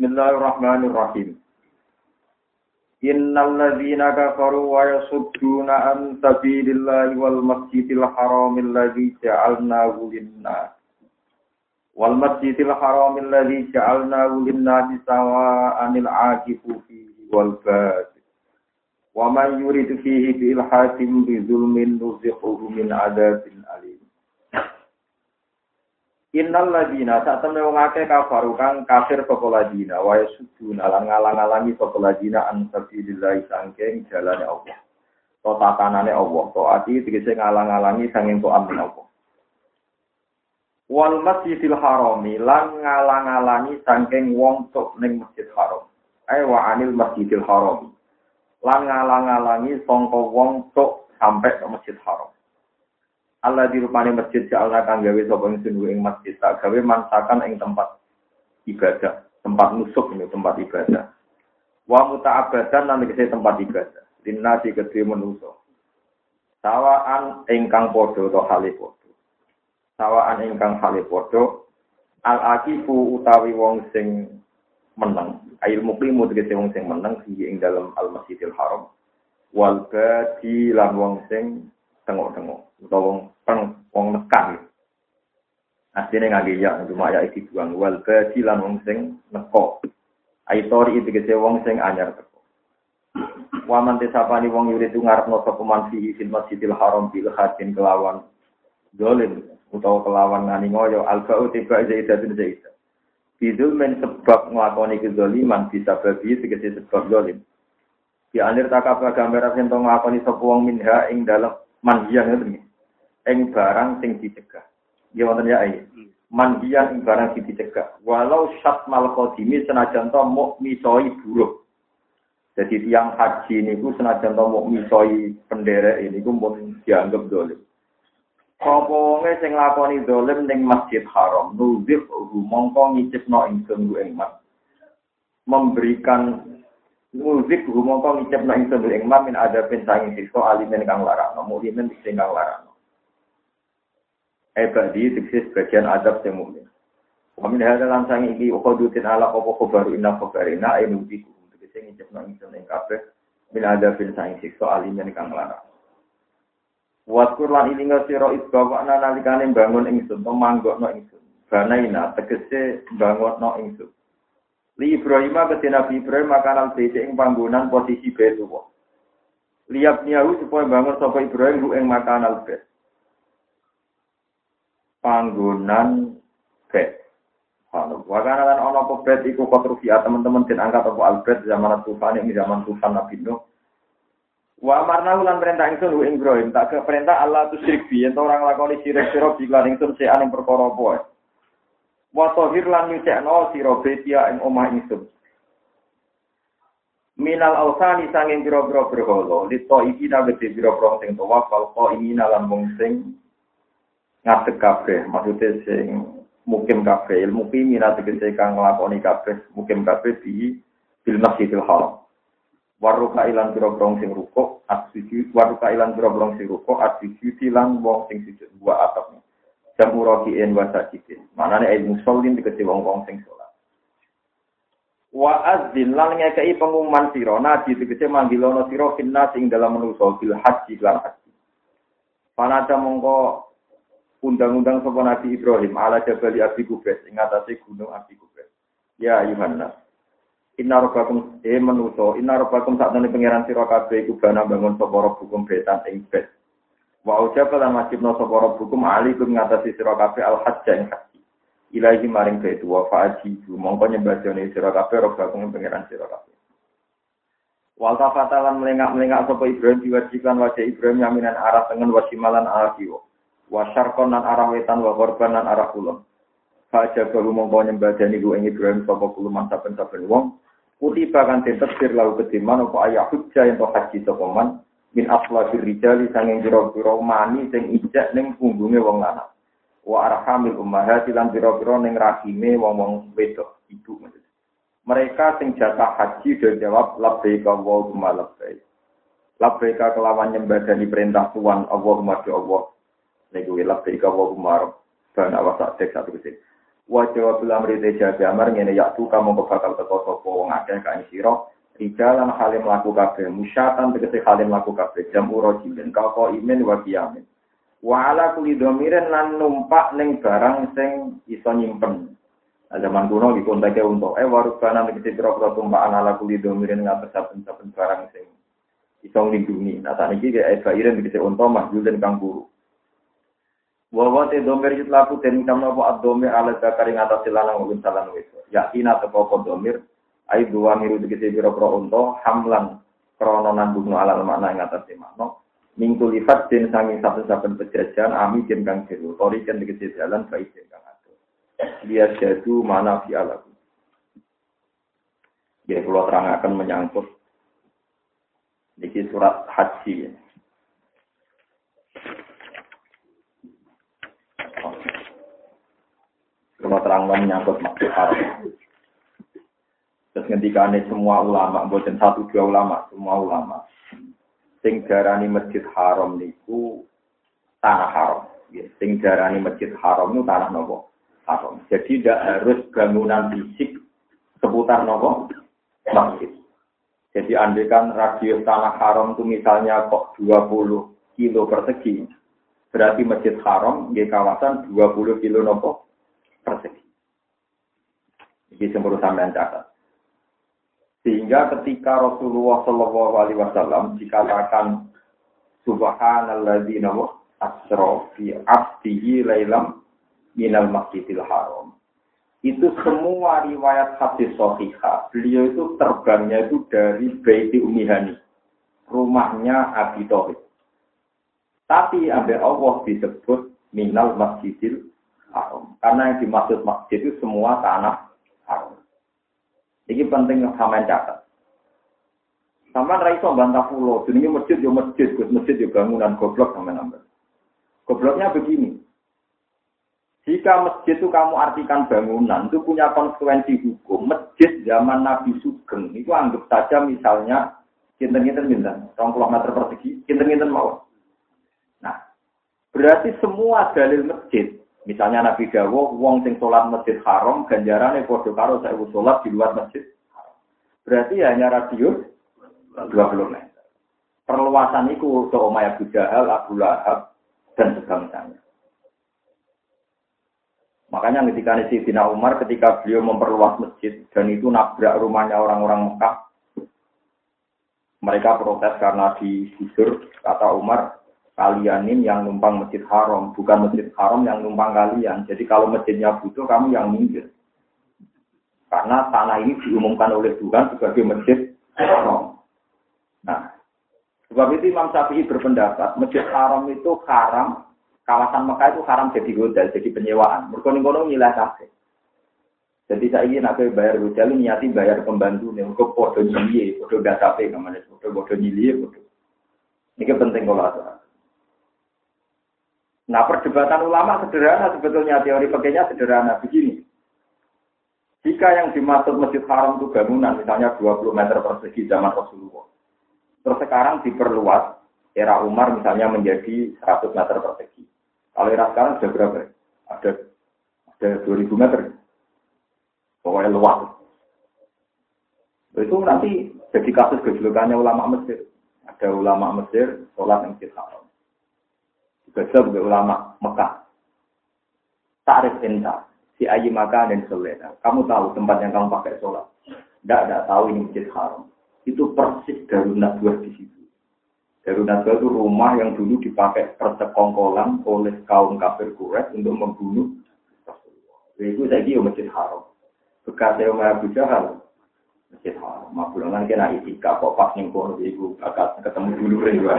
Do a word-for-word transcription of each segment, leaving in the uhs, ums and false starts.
Bismillahirrahmanirrahim. Innal ladzina kafaru wa yasudduna an sabilillahi wal masjidil haramil ladzi ja'alnahu lin-nas wal masjidil haramil ladzi ja'alnahu lin-nas sawa'anil 'aqifu fihi wal bad wa man yurid fihi bi ilhadin bi zulmin nuzighuhu min 'adzabin alim. Innal ladina satemene wong akeh kafaru kang kafir sapa ladina wa yasuduna lan ngalang-alangi sapa ladina an sabilillah sangking jalane Allah. To tatanane Allah, to ati tegese ngalang-alangi sanging to amin Allah. Wal masjidil harami lan ngalang-alangi sangking wong tok ning Masjid Haram. Ai wa anil masjidil harami. Lan ngalang-alangi sangka wong tok sampai ke Masjid Haram. Allah dirupani masjid ja'alna kang gawe sapa ingsun ing masjid tak gawe mansakan ing tempat ibadah, tempat nusuk ini tempat ibadah. Wa muta'abbadan lan tegese tempat ibadah. Linnasi kedhe manusa. Sawaan ingkang padha to hale padha. Sawaan ingkang hale padha al-aqifu utawi wong sing meneng. Ail muqimu tegese wong sing meneng ing dalam al-Masjidil Haram. Wal badi lan wong sing tengok-tengok utawa wong peng wong nekan. Asline ngangge ya cuma ya iki buang wal badi lan wong sing neko. Aitori iki tegese wong sing anyar teko. Wa man tesapani wong yuridu ngarepno sapa man fi fil Masjidil Haram bil hadin kelawan dolim utawa kelawan ngani ngoyo alba'u tiba zaidatun zaidah. Bidul men sebab nglakoni kezaliman bisa babi tegese sebab dolim. Di anir takapa gambar yen to nglakoni sapa wong minha ing dalem manhiyan ngoten. Ing barang sing dicegah. Ya wonten ya ae. Manhiyan ing barang sing dicegah. Walau syat mal qadimi senajan to muk misoi buruk. Jadi tiang haji niku senajan to muk misoi penderek niku pun dianggap dolim. Apa wonge sing lakoni dolim ning Masjid Haram, nuzif mongko ngicipno ingsun ku ing mas. Memberikan muzik rumangka ngicipna ing sedulur ing min ada pensanging siksa alimen kang larakno mukmin sing kang larakno. Ebadi diksis bagian adab sing mukmin. Wa min hadza lan sang iki uqadutin ala apa khabaru inna khabarina ay muzik diksis ngicipna ing sedulur ing kabeh min ada pensanging siksa alimen kang larakno. Wa Qur'an ilinga sira isbawana nalikane bangun ingsun to manggokno ingsun. Banaina tegese bangunno ingsun. Li Ibrahim ke Nabi Ibrahim makanan beda ing panggonan posisi Baitullah. Liap niyahu supaya bangun sapa Ibrahim lu ing makanan bait. Panggonan bait. Ana wakana lan ana apa bait iku konstruksi teman-teman den angkat apa albert zaman Tufan ing zaman Tufan Nabi Nuh. Wa amarna lan perintah ingsun lu ing Ibrahim tak ke perintah Allah tu syirik bi yen orang lakoni syirik sira lan ingsun sean ing perkara apa. Wa tahir lan nyucekno sira betia ing omah ingsun. Minal ausani sanging pira-pira berhala, lito iki nabete pira-pira sing tawaf kal ini lan wong sing ngadeg kabeh, maksude sing mukim kabeh, ilmu pimina tegese kang nglakoni kabeh, mukim kabeh di bil Masjidil Haram. Waruka ilan pira-pira sing rukuk, asujud, waruka ilan pira-pira sing rukuk, asujud lan wong sing sujud buah atapnya. Jamu rokiin wasajidin. Manane ilmu musallin dikece wong-wong sing salat. Wa azzin lan ngekeki pengumuman sira nabi dikece manggilono sira finnas ing dalam manusa bil haji lan haji. Panata mongko undang-undang sapa Nabi Ibrahim ala Jabal Abi Qubais ing atase gunung Abi Qubais. Ya Yohanes. Inna rabbakum e manusa, inna rabbakum sakjane pangeran sira kabeh iku bana bangun sapa hukum betan ing bait. Wa ujaba lan wajibna sapa rabbukum alaikum ngatasi sira kabeh al-hajj ing haji. Ilahi maring bait wa fa'ajibu mongko nyembadane sira kabeh rabbukum pangeran sira kabeh. Wa tafatalan melengak-melengak sapa Ibrahim diwajiban wajah Ibrahim yaminan arah tengen wasimalan arah kiwa. Wa syarqan lan arah wetan wa gharban lan arah kulon. Fa'ajabu mongko nyembadane ku ing Ibrahim sapa kuluman saben-saben wong. Kutiba kan tetepir lau ketiman apa ayah hujjah yang haji sapa man. Min aslafir rijali sanging pira-pira mani sing ijak ning punggunge wong lanang. Wa arhamil ummahati lan pira-pira ning rahime wong-wong wedok ibu maksud. Mereka sing jatah haji do jawab labbaika Allahumma labbaik. Labbaika kelawan nyembadani perintah Tuhan Allahumma do Allah. Niku labbaika Allahumma rabbana wa sa'dik satu kese. Wa jawab lamri teja jamar ngene yaktu kamu bakal teko sapa wong akeh kae sira rijalan halim laku kabeh musyatan tegese halim laku kabeh jam urojilin kau imen wa kiamin wa ala kulli dhamirin lan numpak ning barang sing iso nyimpen. Nah, zaman kuno dikontake untuk eh warubana tegese pira-pira tumpakan ala kulli dhamirin ngates saben-saben barang sing iso nglindungi. Nah sakniki ge bairen tegese unta mahjul kang guru. Wa te domir yutlaku den kamno apa ad-domir ala zakari ngatasi lanang mungkin salan wis. Yakin atau apa domir ai dua miru tegese pira-pira unta hamlan krana nanggung ala makna ngatasi makna minggu lipat den sangi saben-saben pejajan ami den kang jero tori den tegese jalan baik den kang atur. Dia jadu mana fi alaku. Ya kula terangaken menyangkut niki surat haji. Ya. Kalau terang menyangkut maksud haram. Terus ngendikane semua ulama, bukan satu dua ulama, semua ulama. Sing darani masjid haram niku tanah haram. Ya, sing darani masjid haram niku tanah nopo? Haram. Jadi tidak harus bangunan fisik seputar nopo? Masjid. Jadi andaikan radius tanah haram itu misalnya kok dua puluh kilo persegi, berarti masjid haram di kawasan dua puluh kilo nopo? Persegi. Ini semua sampean catat. Sehingga ketika Rasulullah Shallallahu Alaihi Wasallam dikatakan Subhanalladzi asra fi abdihi lailam minal masjidil haram. Itu semua riwayat hadis sahihah. Beliau itu terbangnya itu dari Baiti Ummi Hani, rumahnya Abi Thalib. Tapi ambil Allah disebut minal masjidil haram. Karena yang dimaksud masjid itu semua tanah haram. Ini penting sampean catat. Sampean ra iso bantah pulau, jenenge masjid yo masjid, Gus masjid yo bangunan goblok sampean nambah. Gobloknya begini. Jika masjid itu kamu artikan bangunan, itu punya konsekuensi hukum. Masjid zaman Nabi Sugeng itu anggap saja misalnya kinten-kinten pinten, dua puluh meter persegi, kinten-kinten mawon. Nah, berarti semua dalil masjid misalnya Nabi Dawo, wong sing sholat masjid haram, ganjarane padha karo sewu sholat di luar masjid haram. Berarti hanya radius dua puluh meter. Perluasan itu untuk Umayyah Abu Jahal, Abu Lahab, dan sebangsanya. Makanya ketika Sayyidina Umar, ketika beliau memperluas masjid, dan itu nabrak rumahnya orang-orang Mekah, mereka protes karena digusur, kata Umar, kalian ini yang numpang masjid haram, bukan masjid haram yang numpang kalian. Jadi kalau masjidnya butuh, kamu yang minggir. Karena tanah ini diumumkan oleh Tuhan sebagai masjid haram. Nah, sebab itu Imam Syafi'i berpendapat, masjid haram itu haram, kawasan Mekah itu haram jadi hotel, jadi penyewaan. Mereka-mereka nilai kafe. Jadi saya ingin nak bayar hotel, niati bayar pembantu, nih, mereka podo nyili, podo gak kafe, namanya, podo podo nyili, podo. Ini penting kalau ada. Nah, perdebatan ulama sederhana sebetulnya, teori pakainya sederhana begini. Jika yang dimaksud masjid haram itu bangunan, misalnya dua puluh meter persegi zaman Rasulullah. Terus sekarang diperluas, era Umar misalnya menjadi seratus meter persegi. Kalau era sekarang sudah berapa? Ada ada dua ribu meter. Pokoknya luas. Itu nanti jadi kasus gejolokannya ulama Mesir. Ada ulama Mesir, sholat yang masjid haram. Juga juga ulama Mekah. Ta'rif enta, si ayi makan dan selena. Kamu tahu tempat yang kamu pakai sholat. Tidak ada tahu ini masjid haram. Itu persis Darun Nadwah di situ. Darun Nadwah itu rumah yang dulu dipakai persekongkolan oleh kaum kafir Quraisy untuk membunuh Rasulullah. Itu saya kira masjid haram. Bekas saya Umayyah Abu Jahal, masjid haram. Mabulangan kena itikaf kok pas ning kono iku bakal ketemu dulu juga.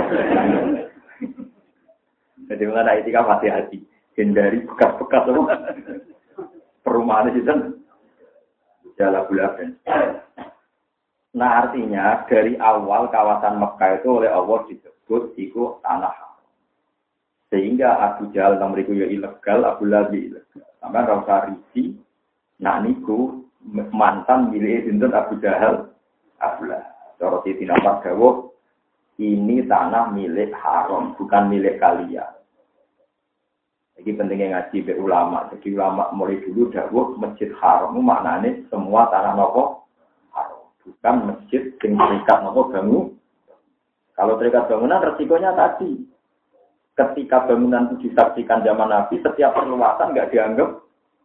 Jadi mengenai etika hati-hati, hindari bekas-bekas perumahan itu kan jalan bulan. Nah artinya dari awal kawasan Mekah itu oleh Allah disebut itu tanah haram. Sehingga Abu Jahal nomor itu ya ilegal, Abu Lahab ilegal. Sampai rasa risi, nak niku mantan milik sinten Abu Jahal, Abu Lahab. Cara Siti Nafas dawuh, ini tanah milik haram, bukan milik kalian. Jadi pentingnya ngaji be ulama. Jadi ulama mulai dulu dawuh Masjid Haram maknane semua tanah nopo haram. Bukan masjid sing terikat nopo bangun. Kalau terikat bangunan resikonya tadi. Ketika bangunan itu disaksikan zaman Nabi, setiap perluasan nggak dianggap.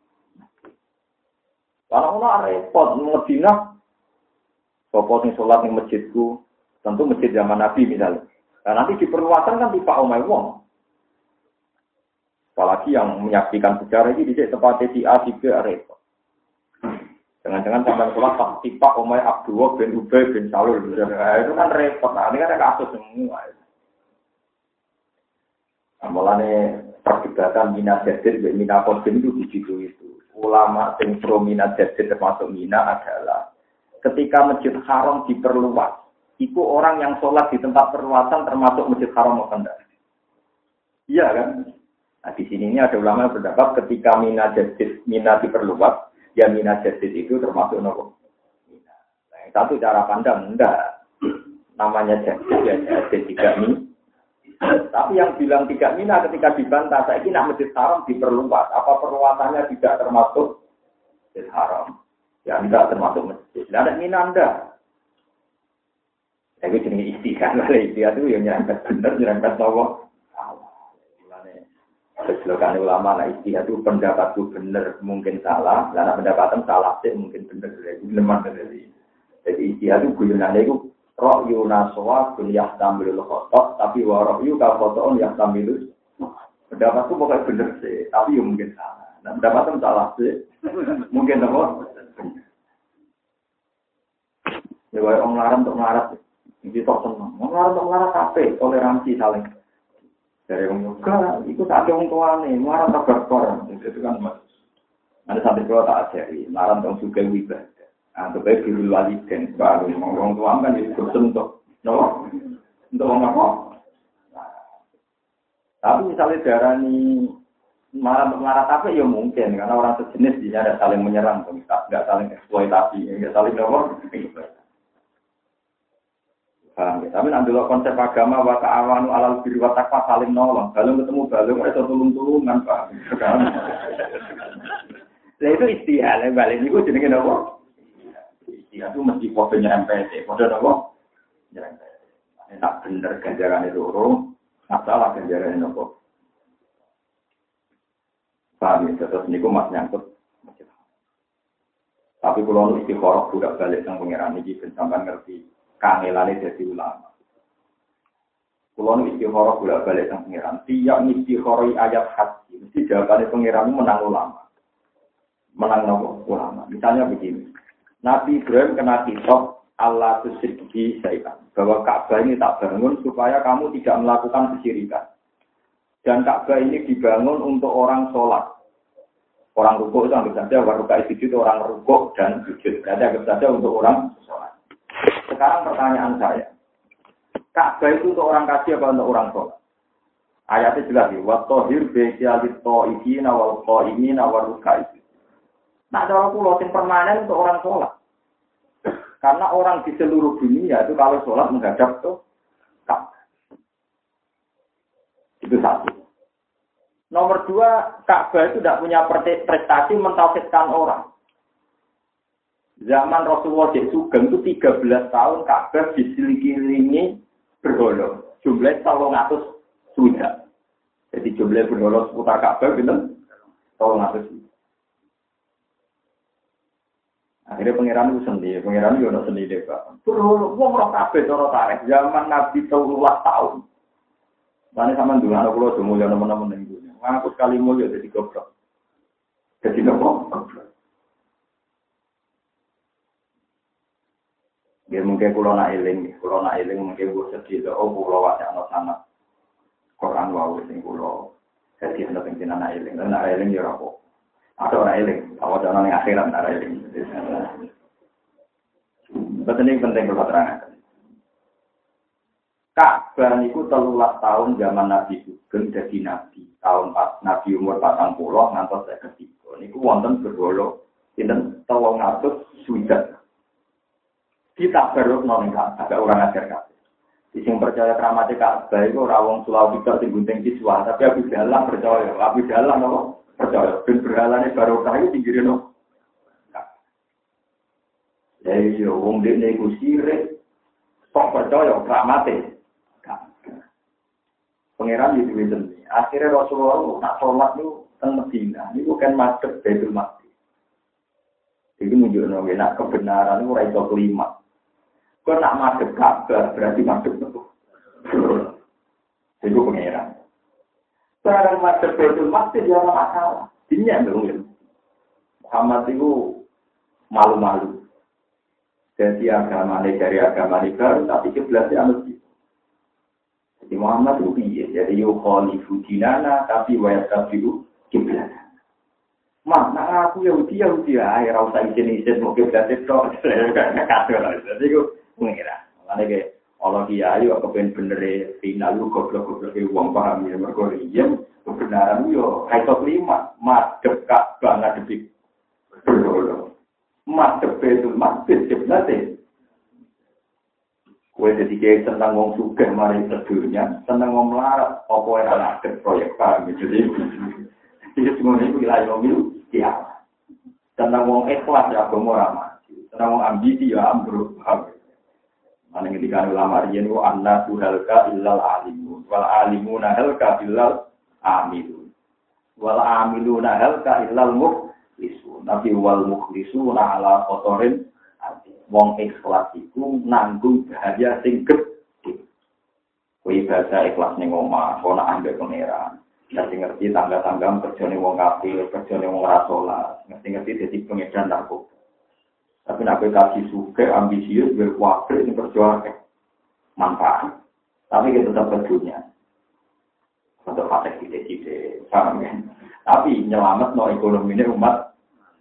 Kalau orang repot, Medina, sopo sing sholat di masjidku, tentu masjid zaman Nabi misalnya. Nah, nanti di perluasan kan tipe omai wong. Apalagi yang menyaksikan sejarah ini di tempat si A, si B, repot. Jangan-jangan sampai sholat pas tipe omai Abdullah bin Ubay bin Salul, nah, itu kan repot. Nah, ini kan ada kasus semua. Mulane perdebatan Mina Jadid dan Mina Qasim itu begitu itu. Ulama yang pro Mina Jadid termasuk Mina adalah ketika Masjid Haram diperluas, itu orang yang sholat di tempat perluasan termasuk Masjid Haram atau tidak? Iya kan? Nah di sini ini ada ulama yang berpendapat ketika Mina Jadid Mina diperluas, ya Mina Jadid itu termasuk nopo. Mina. Nah, yang satu cara pandang enggak. Namanya Jadid ya Jadid tiga Mina. Tapi yang bilang tidak mina ketika dibantah, saya ini nak Masjid Haram diperluas. Apa perluasannya tidak termasuk Masjid Haram? Ya tidak termasuk masjid. Tidak ada mina anda. Tapi jenis istiqah lah dia itu yang nyerempet benar, nyerempet nawa. Keseluruhan ulama lah istiqah itu pendapatku benar mungkin salah, karena pendapatan salah sih mungkin benar. Jadi istiqah itu guyonannya itu Ra'yu naswa bin yahtamilul khotok, tapi wa ra'yu kafoto'un yahtamilul pendapatku pokoknya benar sih, tapi ya mungkin salah. Nah, pendapatnya salah sih, mungkin apa? Ya, kalau orang larang untuk melarat, itu tak senang. Orang larang untuk melarat apa? Toleransi saling. Dari orang juga, itu tak ada orang tua nih, melarat tak berkor. Itu kan, ada satu kalau tak ajari, melarat untuk juga wibah. Untuk baik diri waliden, baru orang tua kan itu untuk, no, untuk apa? Tapi misalnya darah ini marah marah apa ya mungkin karena orang sejenis dia ada saling menyerang, nggak saling eksploitasi, nggak saling apa? Paham ya? Tapi nanti lo konsep agama wa ta'awanu alal birri wa taqwa saling nolong, balung ketemu balung itu tulung-tulungan pak. Nah itu istilah, balik itu jenenge apa? Ya itu mesti kode nyerempet, kode apa? Nyerempet. Ini tak bener ganjaran itu urung, masalah ganjaran itu apa? Paham ya, terus ini aku mas nyangkut. Tapi kalau istiqoroh budak balik yang pengiran ini, sampai ngerti kangelannya jadi ulama. Kalau istiqoroh budak balik yang pengiran, tiap istiqoroh ayat hati, mesti jawabannya pengiran menang ulama. Menang nopo ulama. Misalnya begini. Nabi Ibrahim kena kitab Allah tusyirki syai'an. Bahwa Ka'bah ini tak bangun supaya kamu tidak melakukan kesyirikan. Dan Ka'bah ini dibangun untuk orang sholat. Orang rukuk itu anggap saja, orang rukuk itu orang rukuk dan sujud. Jadi anggap saja untuk orang sholat. Sekarang pertanyaan saya. Ka'bah itu untuk orang kasih apa untuk orang sholat? Ayatnya jelas ya. Wattohir be'kialit to'ikina wal to'imina wal rukai'id. Nah, cara pulau yang permanen untuk orang sholat. Karena orang di seluruh dunia itu kalau sholat menghadap tuh Ka'bah. Itu satu. Nomor dua, Ka'bah itu tidak punya prestasi mentauhidkan orang. Zaman Rasulullah di Sugeng itu tiga belas tahun Ka'bah diselilingi berhala. Jumlahnya selalu ngatus sudah. Jadi jumlah berhala seputar Ka'bah itu selalu ngatus sudah. Akhirnya pangeran itu sendiri, pangeran itu ada sendiri Pak. Terus, wong roh kabeh cara tarik zaman Nabi telulas tahun. Mana sama dulu anak pulau semua yang teman-teman yang dulu. Ngaku sekali mulia jadi goblok. Jadi nopo. Dia mungkin pulau nak eling, pulau nak eling mungkin gue sedih. Oh pulau wajah anak sana. Quran wau sing pulau. Jadi anak penting anak eling, anak eling ya rapo. Ada orang eling, awal orang yang akhirat ada eling. Betul ini penting kalau terangkan. Ka'bah itu telulas tahun zaman Nabi Sugeng jadi Nabi. Tahun pas Nabi umur patang puluh ngantos saya ketiga. Niku wonten berwolo, sinten telung atus sudah. Kita baru noleng Ka'bah, ada orang ajar Ka'bah. Sing percaya keramat Ka'bah iku ora wong Sulawesi tok sing gunting siswa, tapi Abu Dalam percaya, Abu Dalam apa? Percaya ben berhalane barokah iki pinggire no. Ya iya wong dekne iku sirik kok percaya keramate. Pangeran itu wonten. Akhirnya Rasulullah nak sholat niku teng Madinah niku kan madhep Baitul Maqdis. Iki menunjukno nek kebenaran niku ora iso kelima. Kau nak madep Ka'bah berarti madep betul. Itu pengeran. Sekarang madep Baitul Maqdis dia ada masalah. Ini yang belum. Muhammad itu malu-malu. Jadi agama ini dari agama ini baru tapi kiblatnya masjid. Jadi Muhammad itu iya. Jadi yukhalifu dinana tapi wayasabiru kiblat. Mak, nak aku Yahudi Yahudi ae ora usah isin-isin mau kiblat itu. Jadi itu pengira. Makanya kayak Allah kiai kok kepen bener final lu goblok-goblok wong paham ya mergo iya kebenaran yo kaitot lima madhep Ka'bah ngadepi berdoa. Madhep itu madhep sebenarnya. Kowe dadi kiai seneng wong sugih mari sedunya, seneng wong melarat apa ora ngadep proyek paham jadi. Iki semua iki wilayah milu ya. Seneng wong ikhlas ya agama ora mati. Seneng wong ambisi ya ambruk. Mana ketika ulama riyen ku anna tuhalka illal alimun wal alimuna halka illal amilun wal amiluna halka illal mukhlisun nabi wal mukhlisuna ala kotorin wong ikhlas iku nanggung bahaya sing gedhe kowe bahasa ikhlas ning omah ana ambek pangeran ngerti ngerti tangga-tangga kerjane wong kafir kerjane wong ora salat ngerti-ngerti dadi pengedan narkoba. Tapi nak kasih suka, ambisius, berkuatir, ini perjuangan manfaat. Tapi kita tetap berdunia. Untuk patek tidak-tidak, paham ya? Tapi nyelamat no ekonomi ini umat.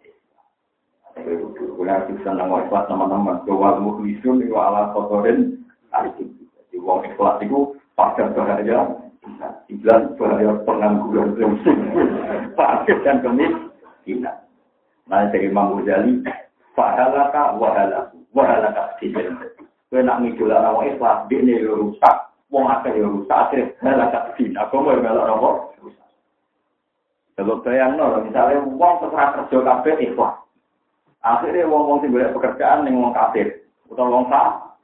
Kita bisa nangis teman-teman. Bahwa mukhlisun itu ala kotorin. Jadi uang ikhlas itu pada bahaya. Iblan bahaya pengangguran. Fakir dan kemiskinan. Nah dari Imam Ghazali. Fahalaka wahalaku, wahalaka sijen. Kau nak ngidulah orang Islam, dia ni rusak. Wong akeh rusak, akhirnya halaka sijen. Aku mau melok apa? Rusak. Kalau bayang no, misalnya wong setelah kerja kabeh Islam. Akhirnya wong-wong sing golek pekerjaan ning wong kafir, utawa wong sah.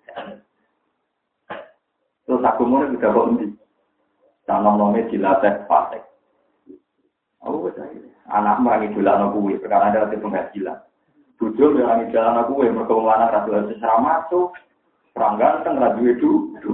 Terus aku mau juga kok endi? Tanam-tanamnya dilatih fasik. Aku percaya. Anak merang idulah no kuwi, perkara ada penghasilan. Tujuh orang di jalan aku yang berkembang ratu secara masuk, perang ganteng ratu itu.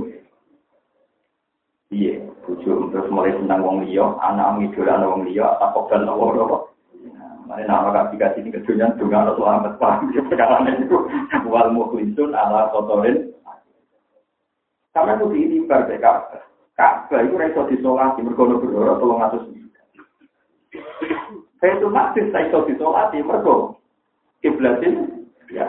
Iya, tujuh terus mulai senang wong liya, anak ngidolan wong liya, takok dan awor-awor. Mane nama kasih-kasih ini kedunya dengan selamat paham perkara itu. Wal mukhlisun ala kotorin. Sampai itu diibar ke Ka'bah. Ka'bah itu iso disolati mergo berdoa tolong atus. Saya itu masih saya iso disolati mergo kiblatin, ya.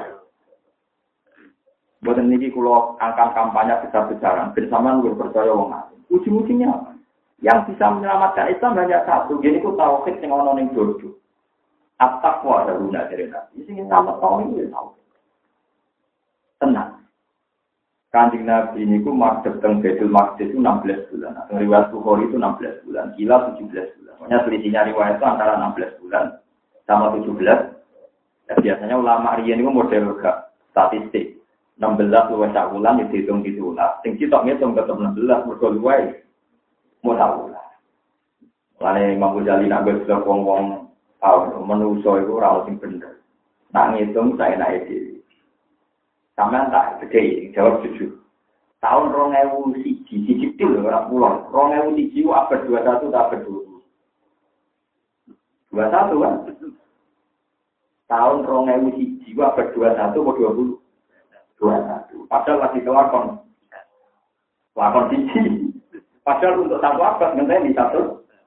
Buat ini kalau angkat kampanye besar-besaran, bersama lu percaya wong alim. Ujung-ujungnya apa? Yang bisa menyelamatkan Islam hanya satu. Jadi aku tauhid yang ono ning dojo. At-taqwa ada guna dari Nabi. Sing selamat tauhid itu tahu. Tenang. Kanjeng Nabi ini ku madhep teng Baitul Maqdis itu enam belas bulan. Nah, riwayat Bukhari itu enam belas bulan. Gila tujuh belas bulan. Pokoknya selisihnya riwayat itu antara enam belas bulan sama tujuh belas. Ya, biasanya ulama riyen itu model gak statistik. enam belas luwih sak wulan dihitung ditulah. Sing sitok ngitung tetep enam belas mergo luwih modal wulan. Lane Imam Ghazali nak wis wong-wong tau menungso iku ora sing bener. Nak ngitung saenake dhewe. Sampeyan tak gede jawab jujur. Tahun dua ribu satu, siji til ora pulang. dua ribu satu abad dua puluh satu tak abad dua puluh. dua puluh satu kan? Tahun dua ribu satu abad dua puluh satu atau dua puluh? dua puluh satu. Padahal masih kelakon. Kelakon siji. Padahal untuk satu abad ngenteni satu.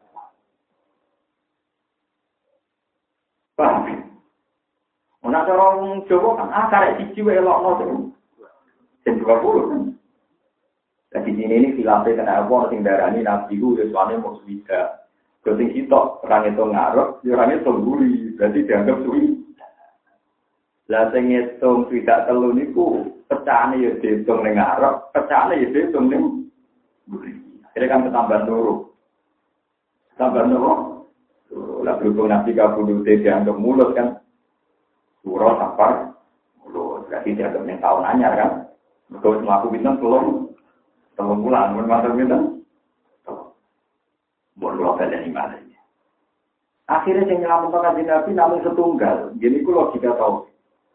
Paham? Ana orang Jawa kan ah karek siji wae elokno sing dua puluh kan. Jadi ini ini filafe kena apa sing darani nabi ku wis wane mung swida. Kok sing sitok orang itu ngarep, ya orang itu guri, berarti dianggap suwi. Lah sing ngitung tidak telu niku pecahane ya diitung ning ngarep, pecahane ya diitung ning mburi. Akhire kan ketambahan loro. Tambah loro. Lah berhubung nabi kabudute dianggap mulut kan. Surah sapar mulut. Berarti dianggap ning taun anyar kan. Mergo mlaku pinten telung telung bulan men matur pinten. Boleh ada iman. Akhirnya yang nyelamat kanjeng Nabi namun setunggal. Jadi ku logika tau.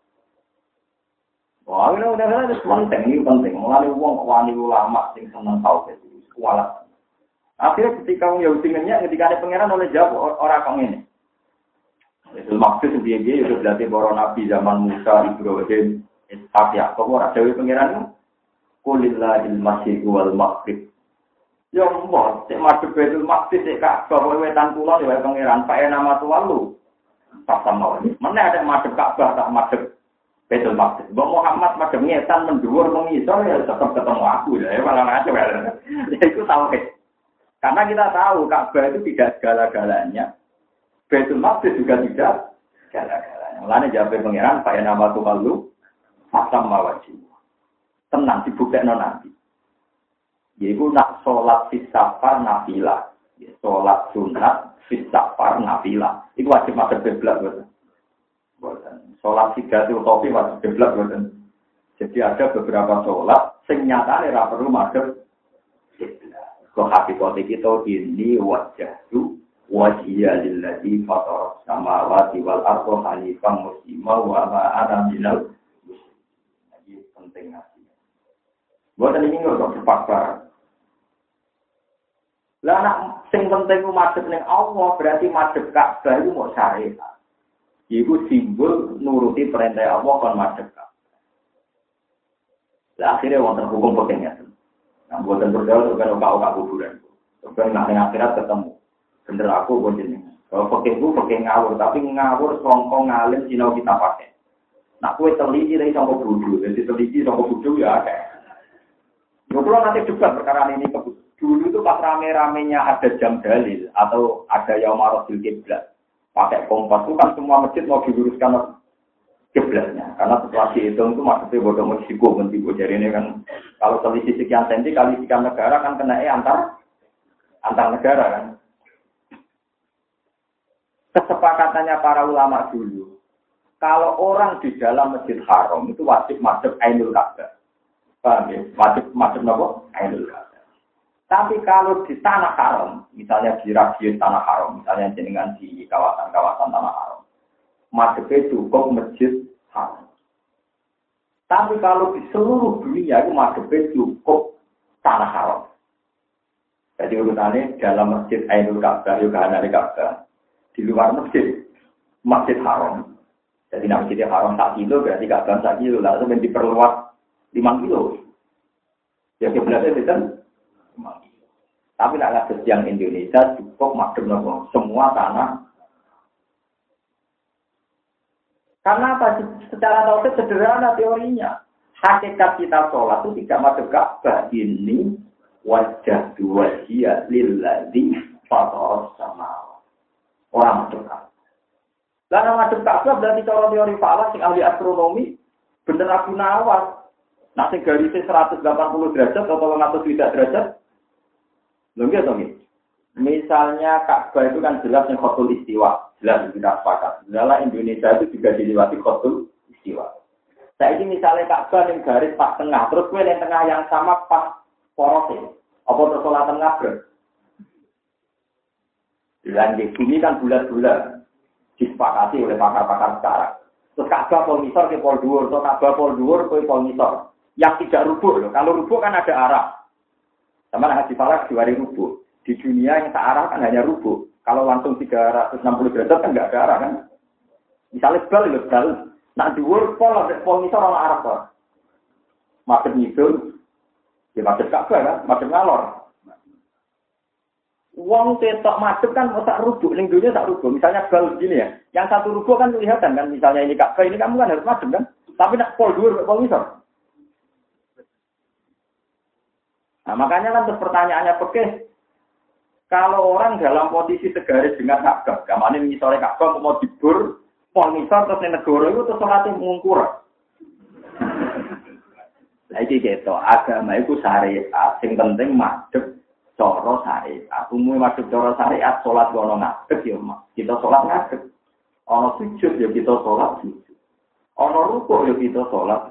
Wah, ini udah ada penting, ini penting. Mulai uang wani ulama sing seneng tau itu kualat. Akhirnya ketika wong Yahudi ngenyak, ketika ada pangeran oleh jawab orang kang ini. Itu maksud dia dia itu berarti para nabi zaman Musa, Ibrahim, Ishak, Yakub, orang Jawa pangeran kulillahil masjid wal maghrib. Ya mbok, cek madhep Baitul Maqdis cek Ka'bah kowe wetan kulon ya pangeran, pae nama tuwa lu. Tak sama. Mana ada madhep Ka'bah tak madhep Baitul Maqdis. Mbok Muhammad madhep ngetan mendhuwur mengisor ya tetap ketemu aku ya, malah ngaco ya. Itu tauhid. Karena kita tahu Ka'bah itu tidak segala-galanya. Baitul Maqdis juga tidak segala-galanya. Mulane jawab pangeran, pae nama tuwa lu. Tak sama wajib. Tenang dibuktekno nanti. Yaitu nak sholat fisafar nafilah, sholat sunat fisafar nafilah. Itu wajib masuk kiblat, bukan? Sholat tiga itu topi wajib kiblat, bukan? Jadi ada beberapa sholat, sing nyatane ra perlu masuk kiblat. Kok hakikate kita ini wajah itu wajhiya lillazi fatara samawati wal arda hanifan muslima wa ma ana minal musyrikin. Ini penting nasi. Bukan ini nggak terpaksa. Lah nak sing penting ku madhep ning Allah berarti madhep Ka'bah iku mau syariat. Iku simbol nuruti perintah Allah kon madhep Ka'bah. Lah akhirnya wonten hukum pekengnya. Nah, buatan berdoa kan oka-oka kuburan. Sampai nak ning akhirat ketemu. Bener aku pun jeneng. Kalau pekengku pekeng ngawur, tapi ngawur songko ngalim sinau kita pakai. Nak kowe teliti dari songko bodho, jadi teliti songko bodho ya akeh. Yo kula nanti debat perkara ini ke dulu itu pas rame-ramenya ada jam dalil atau ada Yaumarul Kiblat. Pakai kompas itu kan semua masjid mau diluruskan kiblatnya. Karena setelah dihitung itu maksudnya bodoh Meksiko mentibu. Jadi ini kan kalau selisih sekian senti kali sekian negara kan kena eh antar antar negara kan. Kesepakatannya para ulama dulu. Kalau orang di dalam Masjid Haram itu wajib madhep Ainul Ka'bah. Paham ya? Wajib madhep napa? Ainul Ka'bah. Tapi kalau di tanah haram, misalnya di radius tanah haram, misalnya jenengan di kawasan-kawasan tanah haram, madhepnya cukup masjid haram. Tapi kalau di seluruh dunia itu madhepnya cukup tanah haram. Jadi urutannya dalam masjid Ainul Ka'bah, juga ada Ka'bah. Di luar masjid, masjid haram. Jadi masjid haram satu kilo, berarti Ka'bah satu kilo. Lalu diperluas lima kilo. Ya kiblatnya itu kan. Tapi nak kasus yang Indonesia cukup madhep nopo semua tanah. Karena apa? Secara tauhid sederhana teorinya. Hakikat kita sholat itu tidak madhep Ka'bah. Ini wajah dua dia lilladzi fatara samawati. Orang madhep Ka'bah. Lalu madhep Ka'bah berarti kalau teori falak sing ahli astronomi bener Abu Nawas. Nah sing garisnya seratus delapan puluh derajat atau seratus tidak derajat. Lengket dong ini. Misalnya Ka'bah itu kan jelas yang khotul istiwa, jelas kita sepakat. Dalam Indonesia itu juga dilewati khotul istiwa. Saya ini misalnya Ka'bah yang garis pas tengah, terus gue yang tengah yang sama pas porosnya. Apa terus sholat tengah ber? Dan di bumi kan bulat-bulat disepakati oleh pakar-pakar sekarang. Terus Ka'bah pol misor ke pol dhuwur, atau Ka'bah pol dhuwur ke pol misor. Yang tidak rubuh loh. Kalau rubuh kan ada arah. Sama haji falak diwari rubuh. Di dunia yang searah kan hanya rubuh. Kalau langsung tiga ratus enam puluh derajat kan nggak ada arah kan. Misalnya bal itu bal. Nah dhuwur pol pol misor ana arah kok. Madhep ngidul. Ya madhep Ka'bah kan, madhep ngalor. Wong ketok madhep kan sak rubuh, ning dunya sak rubuh. Misalnya bal gini ya. Yang satu rubuh kan kelihatan kan, misalnya ini Ka'bah ini kamu kan harus madhep kan. Tapi nak pol dhuwur pol misor. Nah, makanya kan terus pertanyaannya pekeh, kalau orang dalam posisi segaris dengan Ka'bah, gamane ngisore Ka'bah mau dibur, misal terus ning negara iku terus salate ngungkur. Lah iki gitu, agama iku syariat, sing penting madhep cara syariat. Umume madhep cara syariat salat ono ngadeg ya, kita salat ngadeg. Ono sujud ya kita salat sujud. Ono rukuk ya kita salat.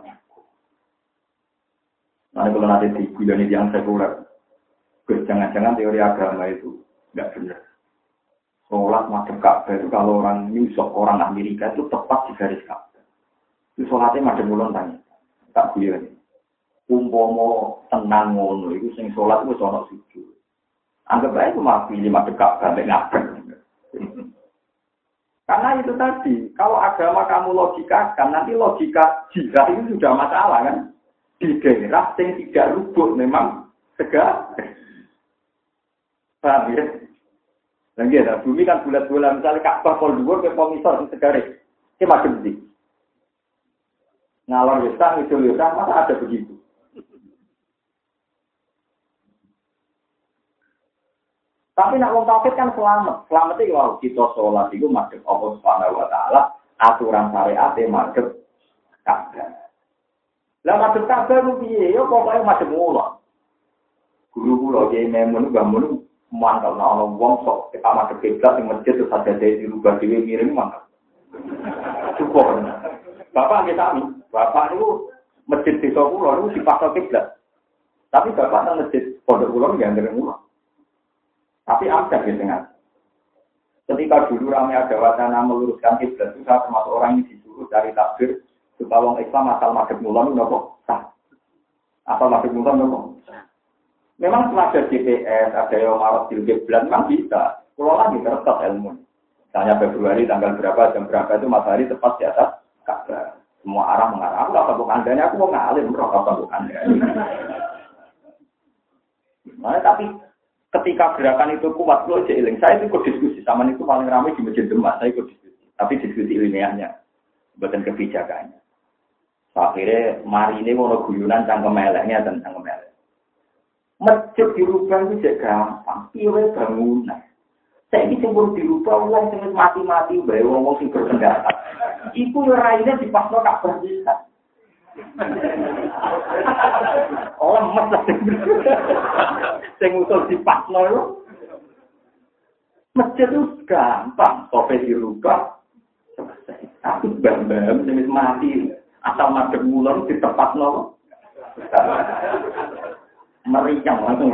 Nah, kalau nanti diguyoni yang sekuler, jangan-jangan teori agama itu nggak benar. Sholat madhep Ka'bah itu kalau orang New York, orang Amerika itu tepat di garis Ka'bah. Itu sholatnya madhep mulon tanya, tak guyoni. Umpomo tenang ngono, itu sing sholat itu sholat sujud. Anggap aja itu mah pilih madhep Ka'bah, nggak ngabek. Karena itu tadi, kalau agama kamu logikakan, nanti logika jihad itu sudah masalah kan? Di daerah yang tidak rubuh memang tegak. Paham ya? Dan ya, bumi kan bulat-bulat, misalnya Ka'bah pol dhuwur ke komisor sing segare. Ki macam ndi? Ngalor wesang itu wesang masa ada begitu. Tapi nak wong tauhid kan selamat. Selamat iki wae kita salat iku madhep Allah Subhanahu wa taala, aturan syariat e madhep Ka'bah. Lah madhep Ka'bah ku piye? Yo pokoke madhep mula. Guru kula iki memun bangun mantap ana wong sok kita madhep kiblat ing masjid terus ada dirubah dhewe miring mantap. Cukup. Bapak nggih sami. Bapak niku masjid desa kula niku dipaksa kiblat. Tapi bapak nang masjid pondok kula nggih ndere mula. Tapi ada di tengah. Ketika dulu ramai ada wacana meluruskan kiblat itu saya termasuk orang yang disuruh dari takbir supaya orang Islam asal madhep mulon nopo sah. Asal madhep mulon nopo. Memang setelah ada G P S, ada yang marah di kiblat, memang bisa. Kalau lagi terletak ilmu. Misalnya Februari tanggal berapa, jam berapa itu matahari tepat di atas Ka'bah. Semua arah mengarah. Aku tak tahu andanya, aku mau ngalim, bro, tak tahu andanya. Nah, tapi ketika gerakan itu kuat, lo jeeling. Saya itu ikut diskusi sama itu paling ramai di Masjid Demak. Saya ikut diskusi, tapi diskusi ilmiahnya, bukan kebijakannya. So, akhirnya mari ini mau guyunan cangkem eleknya dan cangkem elek. Masjid dirubah itu juga gampang, piye bangunan. Saya ini cemburu dirubah, ulang sing mati-mati, bae wong sing berpendapat. Iku yo raine dipasno Ka'bah bisa. Oh, lemes lah. Sing usul dipasno lho. Masjid itu gampang, sope dirubah. Selesai. Tapi bam-bam sing mati, asal madhep mulon ditepatno. Meriang langsung.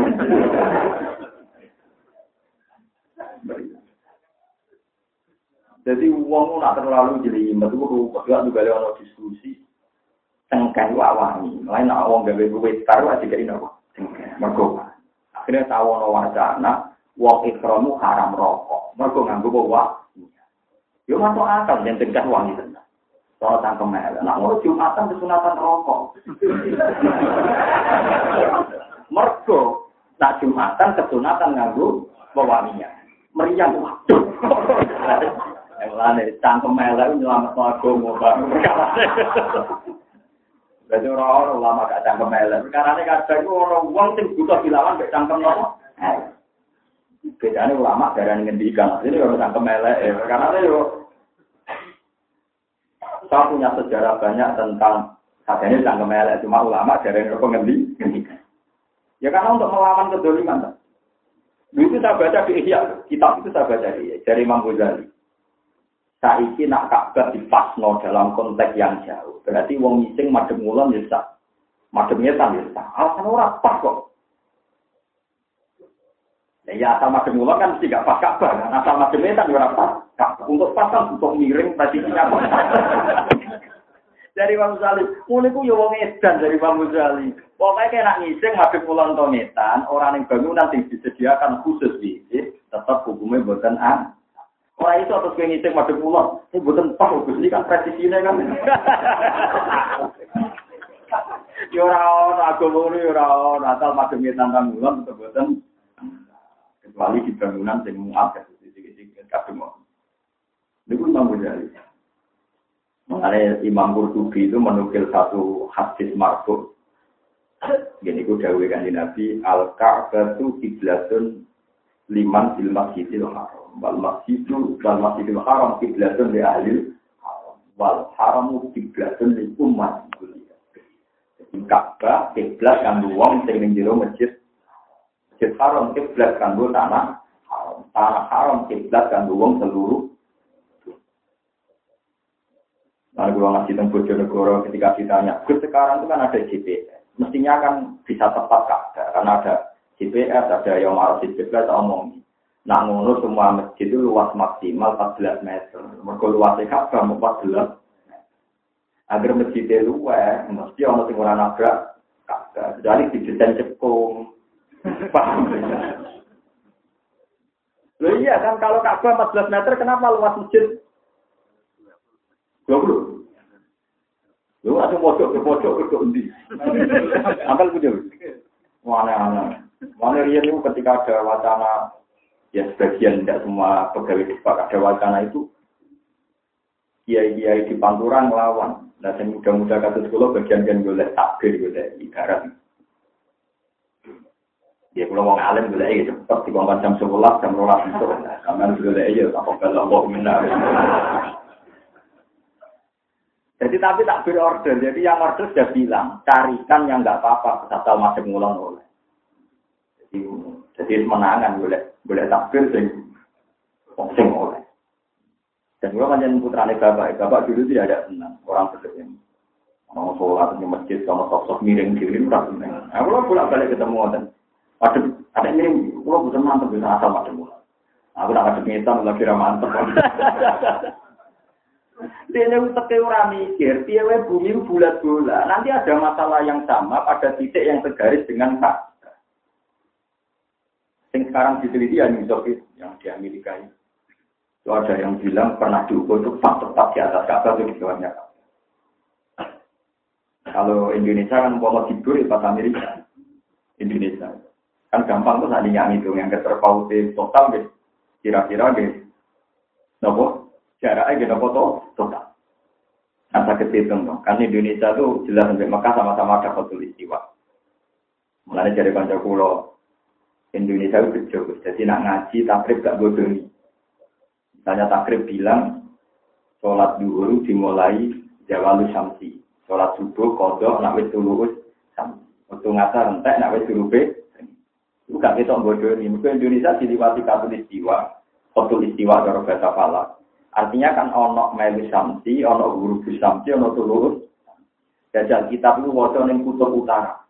Jadi uang nak terlalu jelimet itu rupanya juga ada diskusi tengkai wawani. Lain nak uang gawe gawe taruh aja gini apa? Tengkai. Mergo akhirnya tahu no wacana uang ikramu haram rokok. Mergo nganggo bawa. Yo masuk akal yang tengkai uang itu. Soal tangkem mel. Nak mau jumatan kesunatan rokok. Mergo nak jumatan kesunatan nganggo bawaninya. Meriang waduh. Yang lain cangkem elek nyelametno agama bareng perkara. Berarti orang ulama gak cangkem elek. Perkarane kadang orang wong sing butuh dilawan mek cangkem nopo? Bedane ulama darani ngendikan, ini ora cangkem elek. Perkarane yo saya punya sejarah banyak tentang katanya cangkem elek, cuma ulama darani kok ngendikan. Ya karena untuk melawan kedzaliman. Itu saya baca di Ihya, kitab itu saya baca di dari Imam Ghazali. Saiki nak Ka'bah dipasno dalam konteks yang jauh. Berarti wong ngising madhep ngulon ya sah. Madhep ngetan ya sah. Alasan ora pas kok. Ya asal madhep ngulon kan mesti gak pas Ka'bah. Kan? Asal madhep ngetan ya ora pas. Untuk pas kan untuk miring posisinya. Dari Imam Ghazali, ngono iku ya wong edan dari Imam Ghazali. Pokoke kena ngising madhep ngulon to ngetan, ora ning bangunan sing disediakan khusus iki, tetep hukumnya mboten an. Orang itu atas ngising madhep ngulon, ini mboten pas Gus iki kan presisine kan. Yo ora ono agama yo ora ono asal madhep ngetan nang ngulon tetep mboten. Kecuali di bangunan sing muat sithik-sithik kabeh mau. Niku Imam Ghazali. Mengenai Imam Qurtubi itu menukil satu hadis marfu. Gini ku dawuh Kanjeng Nabi, al-Ka'batu qiblatun liman fil masjidil haram. Wal masjidu wal masjidil haram qiblatun li ahli. wal haramu kiblatun lil umat. Jadi Ka'bah kiblat kanggo wong sing ning jero masjid. Masjid Haram kiblat kanggo tanah haram. Tanah haram kiblat kanggo wong seluruh. Lalu kalau ngasih tentang Bojonegoro ketika ditanya, Gus sekarang itu kan ada G P S, mestinya kan bisa tepat Ka'bah karena ada G P S, ada yang marah G P S omong. Nah ngono semua masjid itu luas maksimal empat belas meter. Mergo luasnya Ka'bah empat belas. Agar masjidnya luas, mesti orang sing ora nabrak Ka'bah. Jadi didesain cekung. Paham? Loh iya kan kalau Ka'bah empat belas meter kenapa luas masjid dua puluh? Lu ada pojok ke pojok ke undi. Ampel punya. Mana-mana. Mana rian itu ketika ada wacana, ya sebagian tidak semua pegawai sepak ada wacana itu, kiai-kiai di Panturan melawan. Nah, yang muda-muda kasus sekolah bagian-bagian boleh takbir, boleh ibarat. Ya kalau orang alim boleh aja cepat di bawah jam sebelas, jam rolas itu. Kamu boleh aja, tak apa-apa, Allah minta. Jadi tapi tak berorder, jadi yang order sudah bilang carikan yang nggak apa-apa, asal masih ngulang oleh. Jadi, jadi menangan boleh, boleh takbir sing, sing oleh. Dan gua manjain putrane bapak, bapak dulu tidak ada senang orang seperti ini. Mau sholat di masjid, sama sosok miring diri udah senang. Aku lah bolak balik ketemu dan, waduh, ada miring, gua bukan mantep bisa asal masih ngulang. Aku tak ada ngitam lagi ramantep. Dia utek ora mikir, piye wae bumi bulat bola. Nanti ada masalah yang sama pada titik yang tegaris dengan Ka'bah. Yang sekarang diteliti yang Soviet, yang di Amerika itu. Itu ada yang bilang pernah diukur itu tepat di atas Ka'bah itu di bawahnya. Kalau Indonesia kan mau tidur di pas Amerika. Indonesia. Kan gampang tuh tadinya ngitung yang terpautnya total deh. Kira-kira deh. Nopo? Jaraknya kita foto total. Asa ketitung dong. Kan Indonesia tuh jelas sampai Mekah sama-sama ada foto istiwa. Mulanya dari Pancakulo Indonesia itu kecil. Jadi nak ngaji takrib gak bodoh. Misalnya takrib bilang sholat duhur dimulai jawalu syamsi. Sholat subuh kodok nak wis tulus syamsi. Waktu ngasar entek nak wis turube. Itu gak kita bodoh ini. Mungkin Indonesia diliwati foto istiwa. Foto istiwa dari bahasa Falak. Artinya kan ono melu samsi, ono guru samsi, ono tulus. Jajal kitab itu waca ning kutub utara.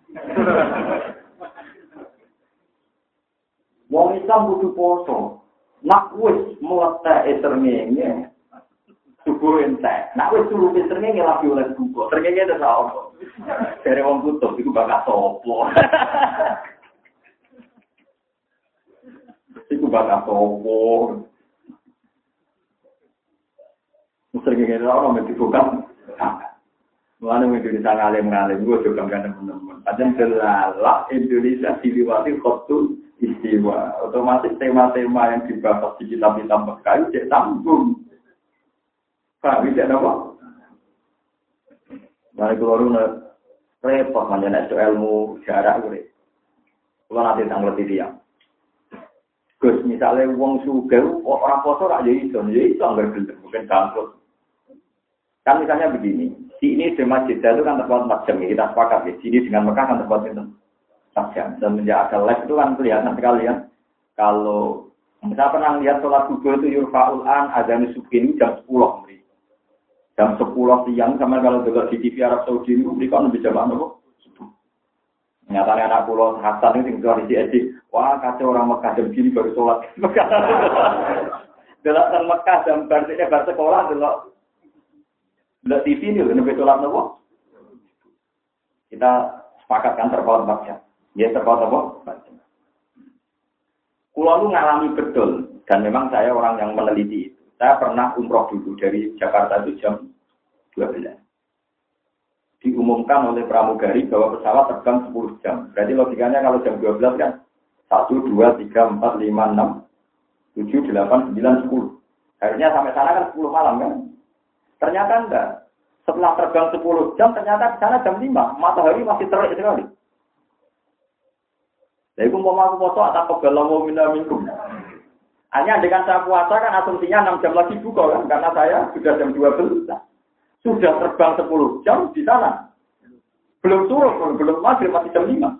Wong Islam kudu poso. Nak wis mlete srengenge. Subuh entek. Nak wis turu srengenge lagi oleh buka. Srengenge itu apa? Dari wong kutub iku bakal sopo. Iku bakal sopo. Sering kita orang mesti bukan, mana Indonesia ngalim-ngalim, gue juga kan teman-teman. Padahal selalah Indonesia diliwati khotul istiwa. Otomatis tema-tema yang dibahas di kitab-kitab Mekah itu tanggung. Pak, bisa apa? Mari keluar repot mengenai ilmu jarak gue. Kalau nanti tanggal dia. Gus misalnya uang suga, orang poso rak jadi iso, jadi iso nggak gelem, bukan bangkrut. Kan misalnya begini, di ini di masjid itu kan terpaut empat jam, kita sepakat ya. Sini dengan Mekah kan terpaut itu empat jam. Semenjak ada live itu kan kelihatan sekali ya. Kalau saya pernah lihat sholat subuh itu yurfa'ul an adzan subuh ini jam sepuluh. Jam sepuluh siang sama kalau juga di T V Arab Saudi itu mereka lebih jam apa? Subuh. Nyatanya anak pulau Hasan itu tinggal di Edi. Wah kacau orang Mekah jam gini baru sholat. Dalam Mekah jam berarti bar sekolah dulu. Tidak T V ini, lebih sholat nopo. Kita sepakatkan terpaut empat jam. Ya terpaut apa? empat jam. Kulo itu ngalami betul, dan memang saya orang yang meneliti itu. Saya pernah umroh dulu dari Jakarta itu jam dua belas. Diumumkan oleh pramugari bahwa pesawat terbang sepuluh jam. Berarti logikanya kalau jam dua belas kan satu, dua, tiga, empat, lima, enam, tujuh, delapan, sembilan, sepuluh. Akhirnya sampai sana kan sepuluh malam kan. Ternyata enggak. Setelah terbang sepuluh jam, ternyata di sana jam lima. Matahari masih terik sekali. Jadi aku mau aku foto atau kebelau minta minum. Hanya dengan saya puasa kan asumsinya enam jam lagi buka kan. Karena saya sudah jam dua belas. sudah terbang sepuluh jam di sana. Belum turun, belum maghrib, masih jam lima.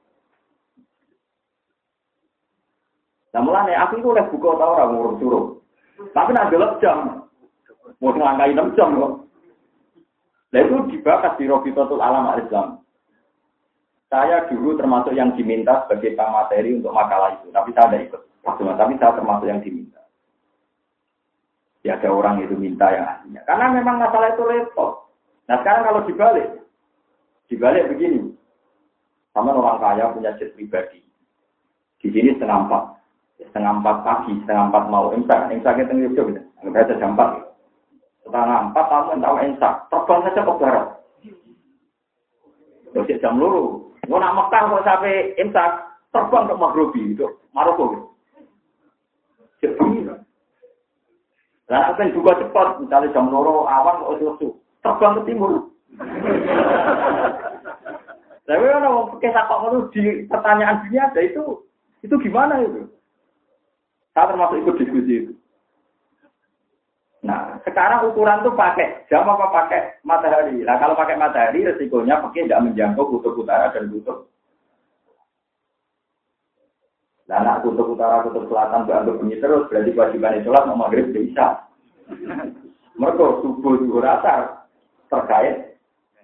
Nah mulanya aku itu oleh buka tau orang ngurus suruh. Tapi nak gelap jam. Mau ngangkai enam jam kok. Nah itu dibahas di Robitotul Alam Al-Islam. Saya dulu termasuk yang diminta sebagai materi untuk makalah itu. Tapi saya tidak ikut. Tapi saya termasuk yang diminta. Ya ada orang itu minta yang aslinya. Karena memang masalah itu repot. Nah sekarang kalau dibalik. Dibalik begini. Sama orang kaya punya jet pribadi. Di sini setengah empat. Setengah empat pagi, setengah empat mau imsak. Imsak itu tengah jauh. Enggak ada jam empat. Setengah empat kamu tahu imsak. Terbang saja ke barat. Terus jam luru. Mau nak Mekah kok sampai imsak. Terbang ke Maghribi. Itu Maroko. Jadi. Nah, apa yang juga cepat. Misalnya jam luru awan kok itu. Terbang ke timur. Tapi orang kisah kok itu di pertanyaan dunia ada itu. Itu gimana itu? Saya termasuk ikut diskusi itu. Nah, sekarang ukuran tuh pakai jam apa pakai matahari. Nah, kalau pakai matahari, resikonya pakai tidak menjangkau kutub utara dan kutub. Nah, nak kutub utara, kutub selatan dianggap bunyi terus, berarti kewajiban sholat mau maghrib bisa. Mereka subuh juga rata terkait.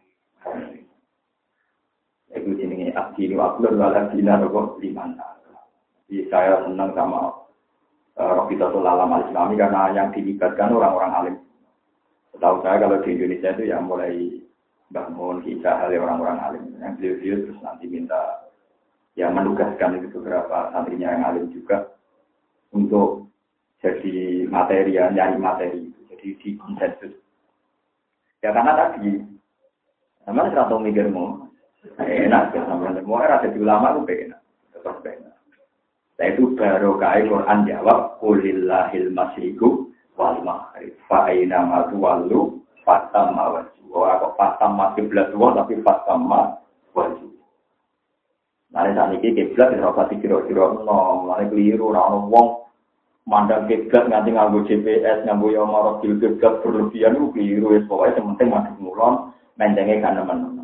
Itu jenisnya abdi ini wakil walau dina rokok liman. Jadi saya senang sama Robitotul Alam Al-Islami karena yang dilibatkan orang-orang alim. Setahu saya kalau di Indonesia itu yang mulai bangun kisah oleh orang-orang alim. Yang beliau-beliau terus nanti minta yang menugaskan itu beberapa santrinya yang alim juga untuk jadi materi, ya, nyari materi. Jadi di konsensus. Ya karena tadi, namanya serata mikirmu, enak ya sama semua ada di ulama itu enak, tetap enak. Nah itu baru kaya Quran jawab, Qulillahil masyiku wal maghrib, fa'aina matuwallu, fatamma wajhu. Kok fatamma kiblat dua, tapi fatamma wajhu. Nah saat ini kiblat, dirapati kira-kira, no, mulai keliru, orang wong, mandang kiblat, nganti nganggo G P S, nganggo yamarok, kiblat berlebihan, itu keliru, ya pokoknya sementing masih mulon, mencengnya kan teman-teman.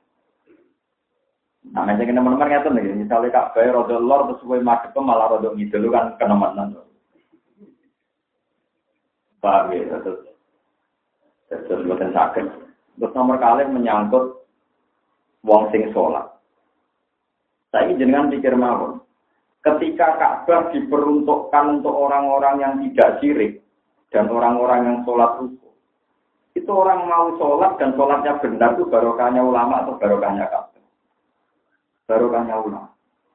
Nah, macam teman-teman ngerti nih, misalnya Kak Bay rodo lor terus gue madep malah rodo ngidul kan kenemenan. Paham ya, terus terus buatan sakit. Terus nomor kali menyangkut wong sing sholat. Saya jenengan pikir mawon. Ketika Ka'bah diperuntukkan untuk orang-orang yang tidak syirik dan orang-orang yang sholat ruku, itu orang mau sholat dan sholatnya benar itu barokahnya ulama atau barokahnya Ka'bah? Barokahnya ulama.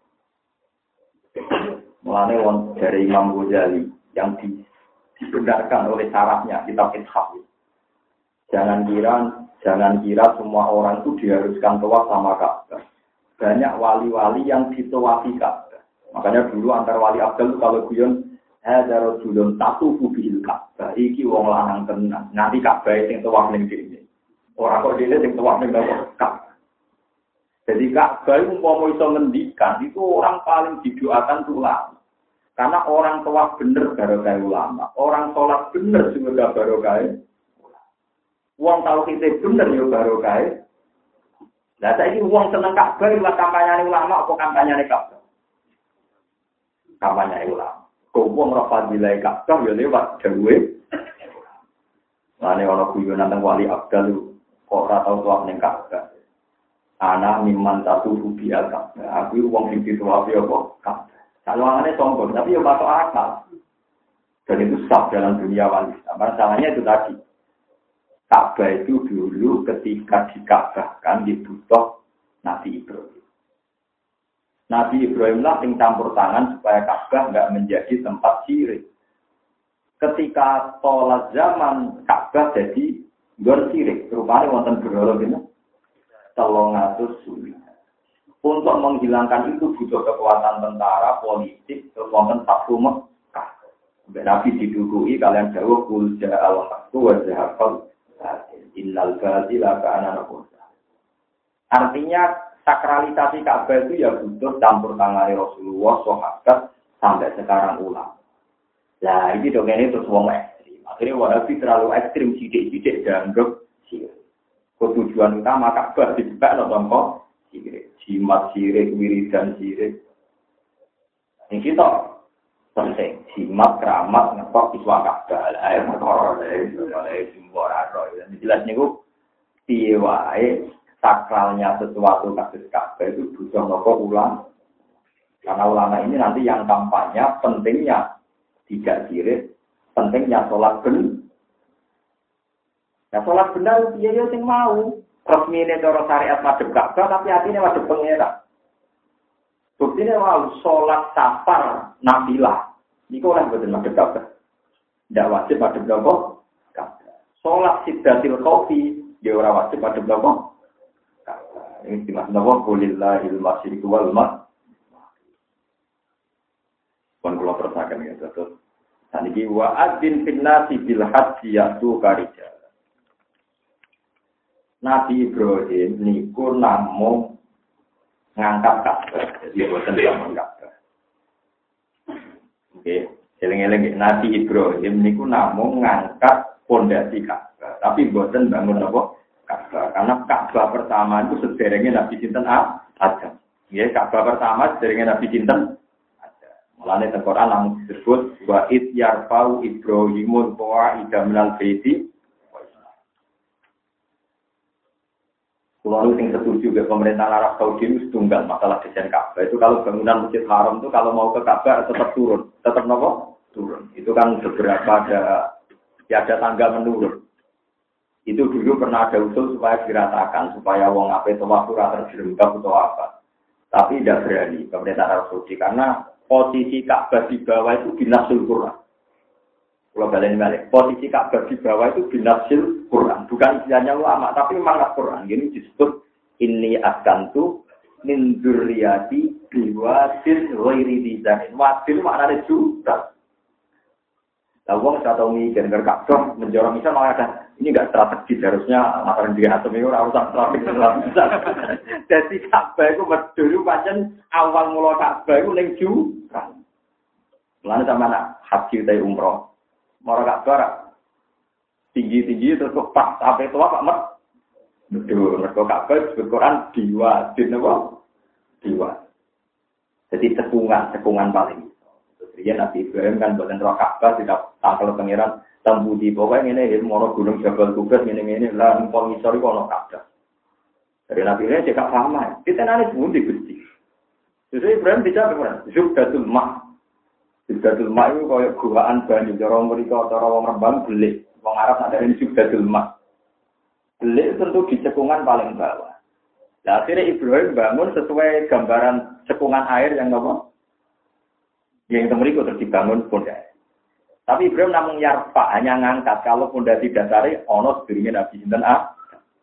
Mulane wong dari Imam Ghazali yang di, dibenarkan oleh syaratnya kitab Ithaf. Jangan kira, jangan kira semua orang itu diharuskan tawaf sama Ka'bah. Banyak wali-wali yang ditawafi Ka'bah. Makanya dulu antar wali Abdul kalau guyon hadza rajulun tatufu bil Ka'bah. Iki wong lanang tenan. Nganti Ka'bah sing tawaf ning dene. Ora kok dene sing tawaf ning Ka'bah. Jadi Ka'bah itu umpama iso ngendikan itu orang paling didoakan itu ulama. Karena orang tawaf bener barokah ulama, orang sholat bener juga barokah. Wong tahu kita bener yo barokah. Lah saiki wong seneng Ka'bah lewat kampanye ulama apa kampanye Ka'bah? Kampanye ulama. Kok wong ora fadilah Ka'bah yo lewat dawuhe. Lane ana guyonan teng wali Abdul kok ora tau tawaf ning Ka'bah. Anak miman satu rubi al-Ka'bah. Aku uang yang dituapi apa? Ka'bah. Saluangannya sombong, tapi ya masuk akal. Dan itu sah dalam dunia wali. Masalahnya itu tadi. Ka'bah itu dulu ketika dika'bahkan dibutuh Nabi Ibrahim. Nabi Ibrahim lah yang campur tangan supaya Ka'bah nggak menjadi tempat syirik. Ketika tolak zaman Ka'bah jadi gor syirik. Rupanya wonten berhala ini. Telung atus sulit. Untuk menghilangkan itu butuh kekuatan tentara, politik, kekuatan takfu Mekah. Nabi didukui kalian jauh kulja al-haqqu wa zahaqal innal batila kana nafusa. Artinya sakralisasi Ka'bah itu ya butuh campur tangan Rasulullah, sahabat sampai sekarang ulama. Nah ini dong ini terus wong ekstrim. Akhirnya Wahabi terlalu ekstrim sidik-sidik dianggap sirik. Tujuan utama Ka'bah dijebak no tongko sirik, jimat sirik, wiridan sirik. Ini kita penting, jimat keramat ngetok iswa Ka'bah, air motor, air simbol aro. Jadi jelas niku piye wae sakralnya sesuatu kasus Ka'bah itu butuh nopo ulang. Karena ulama ini nanti yang kampanye pentingnya tidak sirik, pentingnya sholat benar. Ya sholat benar dia ya sing mau. Resmi ini cara syariat madhep Ka'bah tapi hatinya madhep pengira. Buktinya mau sholat safar nafilah. Niku ora boten madhep Ka'bah. Ndak wajib madhep Ka'bah. Sholat sidatil qofi ya ora wajib madhep Ka'bah. Ini dimaksud apa? Qulillahil masyriqu wal maghrib. Pun kula terusaken ya terus. Saniki wa adzin fil nasi bil haji yatu karija. Nabi Ibrahim niku namung ngangkat Ka'bah. Jadi boten namung Ka'bah. Oke, eling-eling Nabi Ibrahim niku namung ngangkat pondasi Ka'bah, tapi boten bangun apa Ka'bah. Karena Ka'bah pertama itu sederenge Nabi sinten Adam. Nggih, Ka'bah pertama sederenge Nabi sinten Mulane teng Quran langsung disebut wa id yarfa'u Ibrahimul qawa'ida minal baiti. Kalau yang setuju ke pemerintah Arab Saudi itu tunggal masalah desain Ka'bah itu kalau bangunan Masjid Haram itu kalau mau ke Ka'bah tetap turun, tetap nopo turun. Itu kan beberapa ada ya ada tangga menurun. Itu dulu pernah ada usul supaya diratakan supaya wong ape tawaf ora terjerembab atau apa. Tapi tidak berani pemerintah Arab Saudi karena posisi Ka'bah di bawah itu binasul Quran. Kalau balik balik, posisi Ka'bah di bawah itu binasul Quran. Bukan istilahnya ulama, tapi mangat Quran. Ini disebut inni askantu min dzurriyyati biwadin ghairi dzizanin. Wadin maknanya juga. Lah wong ora tau mikir nek Ka'bah menjorong misal malah ada ini enggak strategis harusnya mataran diri atom itu ora usah strategis. Jadi Ka'bah itu medhur pancen awal mula Ka'bah itu ning jurang. Mulane sampeyan haji utawa umroh. Mara Ka'bah tinggi-tinggi terus kok pas sampai tua Pak Mat. Medhur mergo Ka'bah disebut Quran diwa, dinapa? Diwa. Jadi cekungan-cekungan paling Iya Nabi Ibrahim kan buatan roh Ka'bah tidak tangkel pengiran tambudi pokoknya ini ilmu orang gunung Jabal Kubas ini ini lah empong isori kono Ka'bah. Dari Nabi Ibrahim cekak sama. Kita nanti pun digusti. Jadi Ibrahim tidak berperan. Zubdatul Ma. Zubdatul Ma itu kayak guaan banyu. Orang mereka atau orang Rembang belik. Orang Arab ada ini Zubdatul Ma. Belik tentu di cekungan paling bawah. Nah, akhirnya Ibrahim bangun sesuai gambaran cekungan air yang apa? Yang temeriku terus dibangun pondasi. Tapi Ibrahim namun yarfa hanya ngangkat kalau pondasi dasari ono sedurunge Nabi sinten A.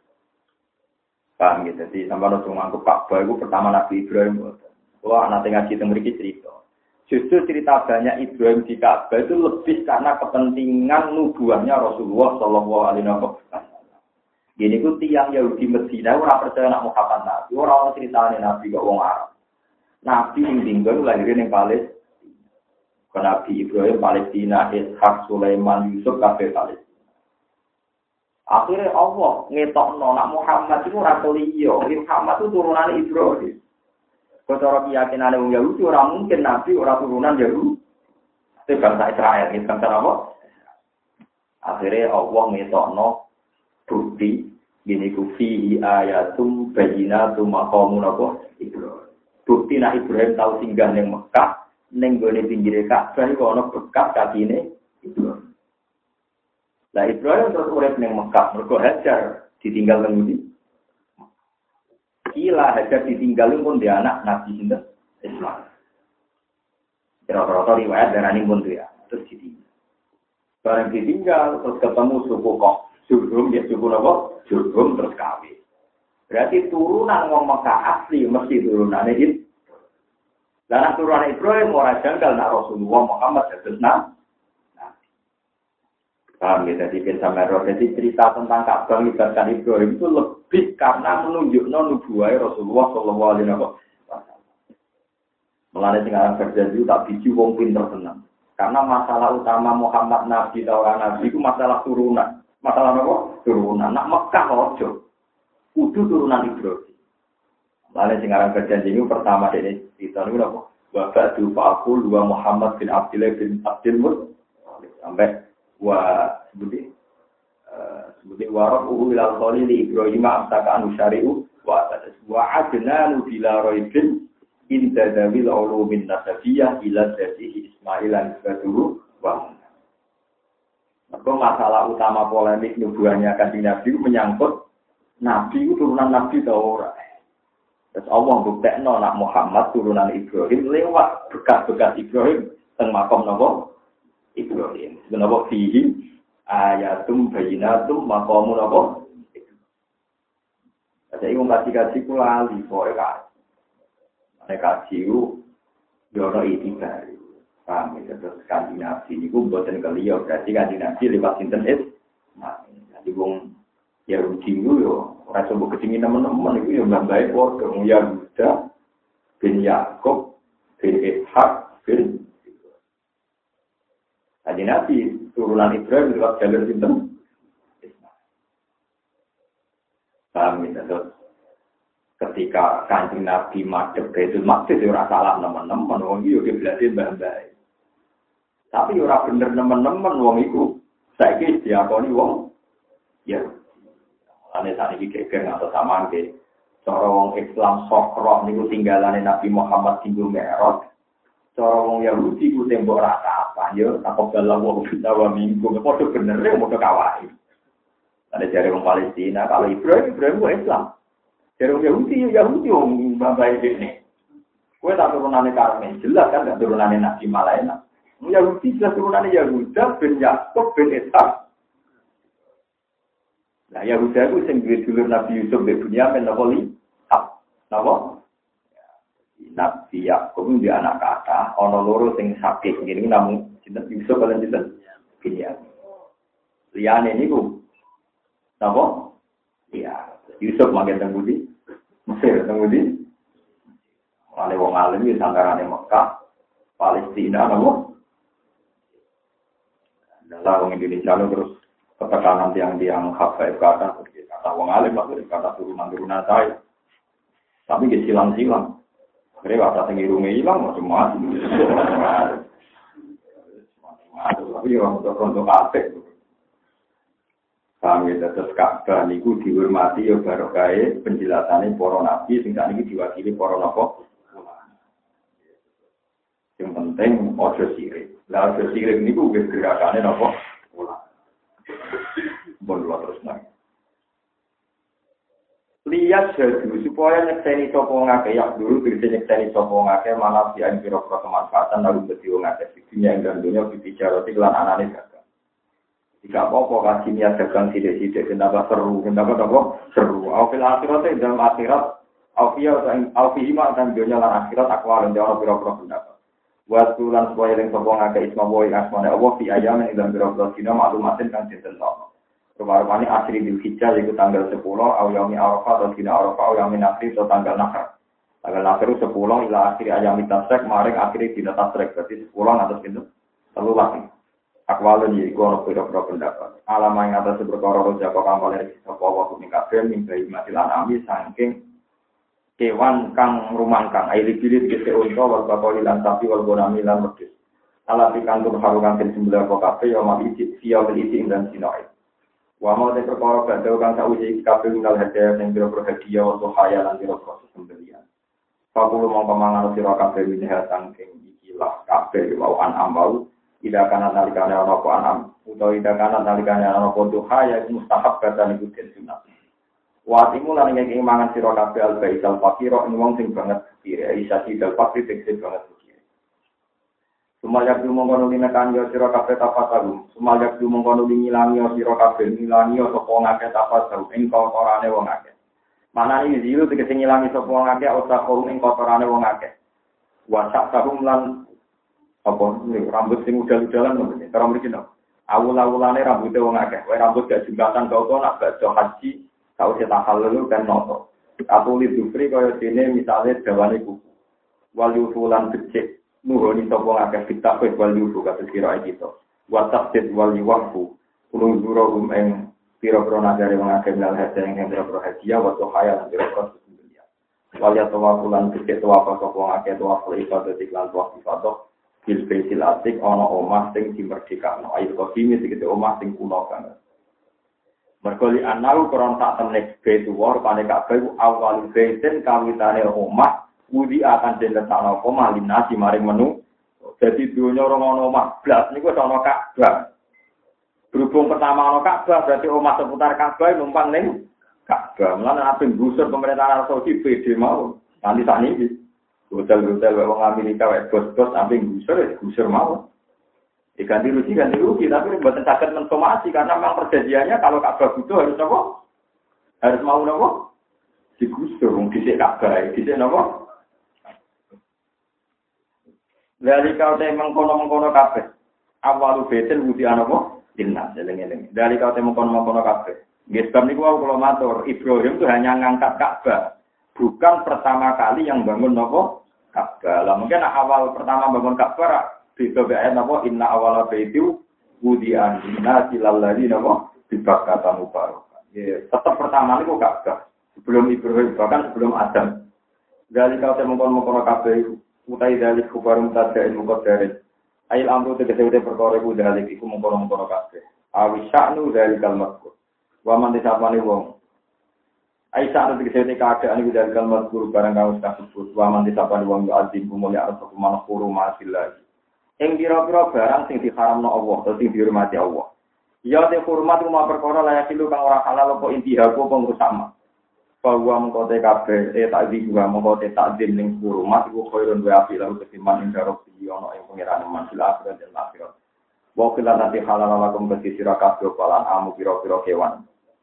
Paham gitu. Jadi sampai langsung ngangkup Ka'bah itu pertama Nabi Ibrahim. Wah, nanti ngaji temeriku cerita. Justru cerita banyak Ibrahim di Ka'bah itu lebih karena kepentingan nubuahnya Rasulullah Shallallahu Alaihi Wasallam. Gini ku tiang Yahudi Medina ora percaya nak Muhammad Nabi, ora ceritane Nabi kok wong Arab. Nabi ing tinggal lahirin ning Palestina. Nabi Ibrahim Palestina, Ishak, Sulaiman, Yusuf, kabeh Palestina. Akhirnya Allah ngetokno nak Muhammad itu ora liya, Muhammad itu turunan Ibrahim. Cara keyakinan wong Yahudi ora mungkin Nabi ora turunan Yahudi. Itu bangsa Israel, itu bangsa apa? Akhirnya Allah ngetokno bukti gini ku fihi ayatum bayyinatum maqamun apa Ibrahim. Bukti nak Ibrahim tahu singgah ning Mekah. Neng gone pinggire Ka'bah iku ana bekas kakine Ibrahim. Lah Ibrahim terus urip ning Mekah, mergo Hajar ditinggal nang ndi? Kila Hajar ditinggal pun dia anak Nabi sinten? Ismail. Kira-kira riwayat darani pun dia, terus ditinggal. Bareng ditinggal terus ketemu suku kok, Jurhum ya suku napa? Jurhum terus kawin. Berarti turunan wong Mekah asli mesti turunane itu. Lah nek turunan Ibrahim ora janggal nak Rasulullah Muhammad dados nabi. Paham ya, jadi bisa merah. Jadi cerita tentang Ka'bah melibatkan Ibrahim itu lebih karena menunjukkan nubuwah Rasulullah Shallallahu Alaihi Wasallam. Mulane sing aran berjanji tak biji wong pinter tenan. Karena masalah utama Muhammad Nabi atau orang Nabi itu masalah turunan. Masalah apa? Turunan. Nak Mekah ojo. Kudu turunan Ibrahim. Lalu sing aran berjanji ini pertama ini kita niku napa? Wa ba'du fa'qul wa Muhammad bin Abdullah bin Abdul Muttalib sampai wa sebuti eh sebuti warahu ilal khalili Ibrahim amsaka anu syari'u wa wa adnanu bila raibin inda dawil ulumin nasabiyah ila dzatihi Ismail lan baduhu wa maka masalah utama polemik nubuahnya kanjeng Nabi menyangkut Nabi itu turunan Nabi ta ora. Terus Allah buktekno nak Muhammad turunan Ibrahim lewat bekas-bekas Ibrahim teng makom napa Ibrahim. Sebenarnya fihi ayatum bayyinatum maqamun napa. Jadi wong kaji-kaji kula ali pokoke kaji. Nek kaji yo ono itibar. Paham ya, terus kanjeng Nabi niku mboten keliya berarti kanjeng Nabi lewat sinten es. Nah, jadi wong ya rujiku yo ora coba kecingin teman-teman itu ya mbak-mbak padha ya Yuda bin Yakub bin Ishak bin Kanjeng Nabi turunan Ibrahim lewat jalur sinten. Paham ya, terus ketika Kanjeng Nabi madhep Baitul Maqdis ora salah teman-teman wong iki yo berarti mbak-mbak. Tapi ora bener teman-teman wong iku saiki diakoni wong ya ane saniki geger atau samaan ke cara wong Islam sokro niku tinggalane Nabi Muhammad tinggal Mi'raj. Cara wong Yahudi ku tembok rata apa yo takok dalam wong dawa minggu padha bener ya padha kawai. Ada jare wong Palestina kalau Ibrahim Ibrahim ku Islam. Jare wong Yahudi yo Yahudi wong babae dene. Kowe tak turunane Karmen jelas kan gak turunane Nabi Malaina. Yahudi jelas turunane Yahuda bin Yakub bin Ishak. Nah, Yahuda itu sing duwe dulur Nabi Yusuf bin Bunyamin napa li? Napa? Nabi Yakub itu anak kata, ana loro sing sakit ngene namung sinten Yusuf lan sinten Bunyamin. Liyane niku napa? Iya, Yusuf manggen teng Budi. Mesir teng Budi. Wale wong alim iki sangarane Mekah, Palestina napa? Dalam orang Indonesia terus ketekanan tiang-tiang hafaif kata, kata wong alim lah, kata turunan-turunan saya. Tapi dia silang-silang. Akhirnya kata tinggi-rungi hilang, macam-macam. Tapi orang untuk-untuk kafe. Kami tetap Ka'bah niku dihormati ya barokah penjelasannya para nabi, sehingga ini diwakili para nabi. Yang penting ojo sirik. Lah ojo sirik niku wis gerakane napa? Ulama. Bon lo terus nang. Lihat jadi supaya nyekseni sapa ngake ya dulu bisa nyekseni sapa ngake malah di anjiro kemanfaatan lalu dadi wong akeh dunia ing dunya bicara lan anane dagang. Jika apa-apa kasih niat dagang sithik-sithik kenapa seru, kenapa apa seru. Aufil akhirat dalam akhirat aufiyah dan aufihima dan dunia lan akhirat akwal jawab pira-pira pendapat. Wasulan supaya yang sopong agak isma boy asmane Allah fi ayamin dalam beberapa dina maklumatin kan sinten no. Rupa-rupane asri bil hijjah yaitu tanggal sepuluh au yaumi arafah atau dina arafah au yaumi akhir atau tanggal nahar. Tanggal nahar sepuluh ila akhir ayami tasrek maring akhir dina tasrek berarti sepuluh atau pintu telu lagi. Akwalun yaiku ana pira-pira pendapat. Alama ing atas perkara roja kok kang oleh sapa wa ing kabeh ning bayi matil anami saking kewan kang rumangkang aili bilit kese unta wal bakoli lan sapi wal bonami lan wedhus ala pikantur harukan ten sembilan kafe yo mati sia beliti dan sinoi wa mau te perkara badhe kang sauji kafe tinggal hadiah sing biro hadiah untuk hayal lan biro proses pembelian pakulu mongko mangan sira kafe minha saking iki lah kafe wau an ambau tidak kana nalikane ana apa anam utawa tidak kana nalikane ana apa duha ya mustahab kata niku den sunat. Watimu lan ngeki mangan sira kabeh al-baisal fakira ing wong sing banget kira isa sidal fakir sing banget kira. Sumayak dumongkono linekan yo sira kabeh tapataru. Sumayak dumongkono ngilangi sira kabeh ngilangi sapa ngake tapataru ing kotorane wong akeh. Manane iki zilu tegese ngilangi sapa wong akeh utawa korum ing kotorane wong akeh. Wasak tahum lan apa rambut sing udal-udalan ngono iki. Cara mriki no. Awul-awulane rambute wong akeh. Wae rambut gak jembatan kok nak badhe haji. Kau cetak halal kan noto. Atau lidufri kaya dene misalnya dawane buku. Walyufulan becik nuhoni sapa ngakeh kitab wal yufu kata kira kita. Wa tafsid wal yufu. Ulung zurum ing piro-piro nagari mengakai minal hadiah yang piro-piro hadiah waktu khayal dan piro-piro sesungguhnya. Walia tawafulan gede tawafah sopong akeh tawaful ibadah iklan tawaf ibadah bil baitil atik ana omah sing dimerdekakno ayo kodime segede omah sing kuno banget. Mergoli anau kron tak temne baitu war pane kabeh awal baitin kawitane omah wudi akan diletakno omah linasi maring menu. Jadi dunia orang ono omah blas niku ana Ka'bah. Berhubung pertama ono Ka'bah berarti omah seputar Ka'bah numpang ning Ka'bah. Mulane aping gusur pemerintahan Arab Saudi P D mau. Nanti sakniki hotel-hotel wong Amerika wae bos-bos aping gusur ya gusur mau. Diganti rugi ganti rugi tapi mboten saged mensomasi karena memang perjanjiannya kalau Ka'bah butuh harus apa? Harus mau napa? Digusur wong dhisik Ka'bah, dhisik napa? Dari kau teh mengkono-mengkono kabeh. Awalu betel budi anapa? Inna seleng-eleng. Dari kau teh mengkono-mengkono kabeh. Nggih sebab niku wau kula matur, Ibrahim itu hanya ngangkat Ka'bah. Bukan pertama kali yang bangun napa? Ka'bah. Lah mungkin awal pertama bangun Ka'bah bisa ayat napa? Inna awala baitu budi anna silal ladina napa? Dibakata mubarak. Ya, tetap pertama niku Ka'bah. Sebelum Ibrahim bahkan sebelum Adam. Dari kau teh mengkono-mengkono kabeh utai dalik kubarum tadain muqaddarin ail amru tegese-tegese perkara iku dalik iku mengkono-mengkono kabeh awi sya'nu dalikal mazkur wa man disapane wong ai sya'nu tegese keadaan iku dalikal mazkur barang kang wis kasebut wa man disapane wong azim kumulya arep kumanah kuru masillah ing pira-pira barang sing diharamno Allah utawa sing dihormati Allah ya te hormat umma perkara layak ilu kang ora halal apa intiha apa ngrusak bahwa mengkote kabeh eh takdi juga mengkote takdim ning hurumat iku khairun wa afi lahu ketiman ing darok ono ing pangeran mansil akhirat dan akhirat. Wa kila nanti halal lakum bagi sira kabeh palan amu pira-pira kewan.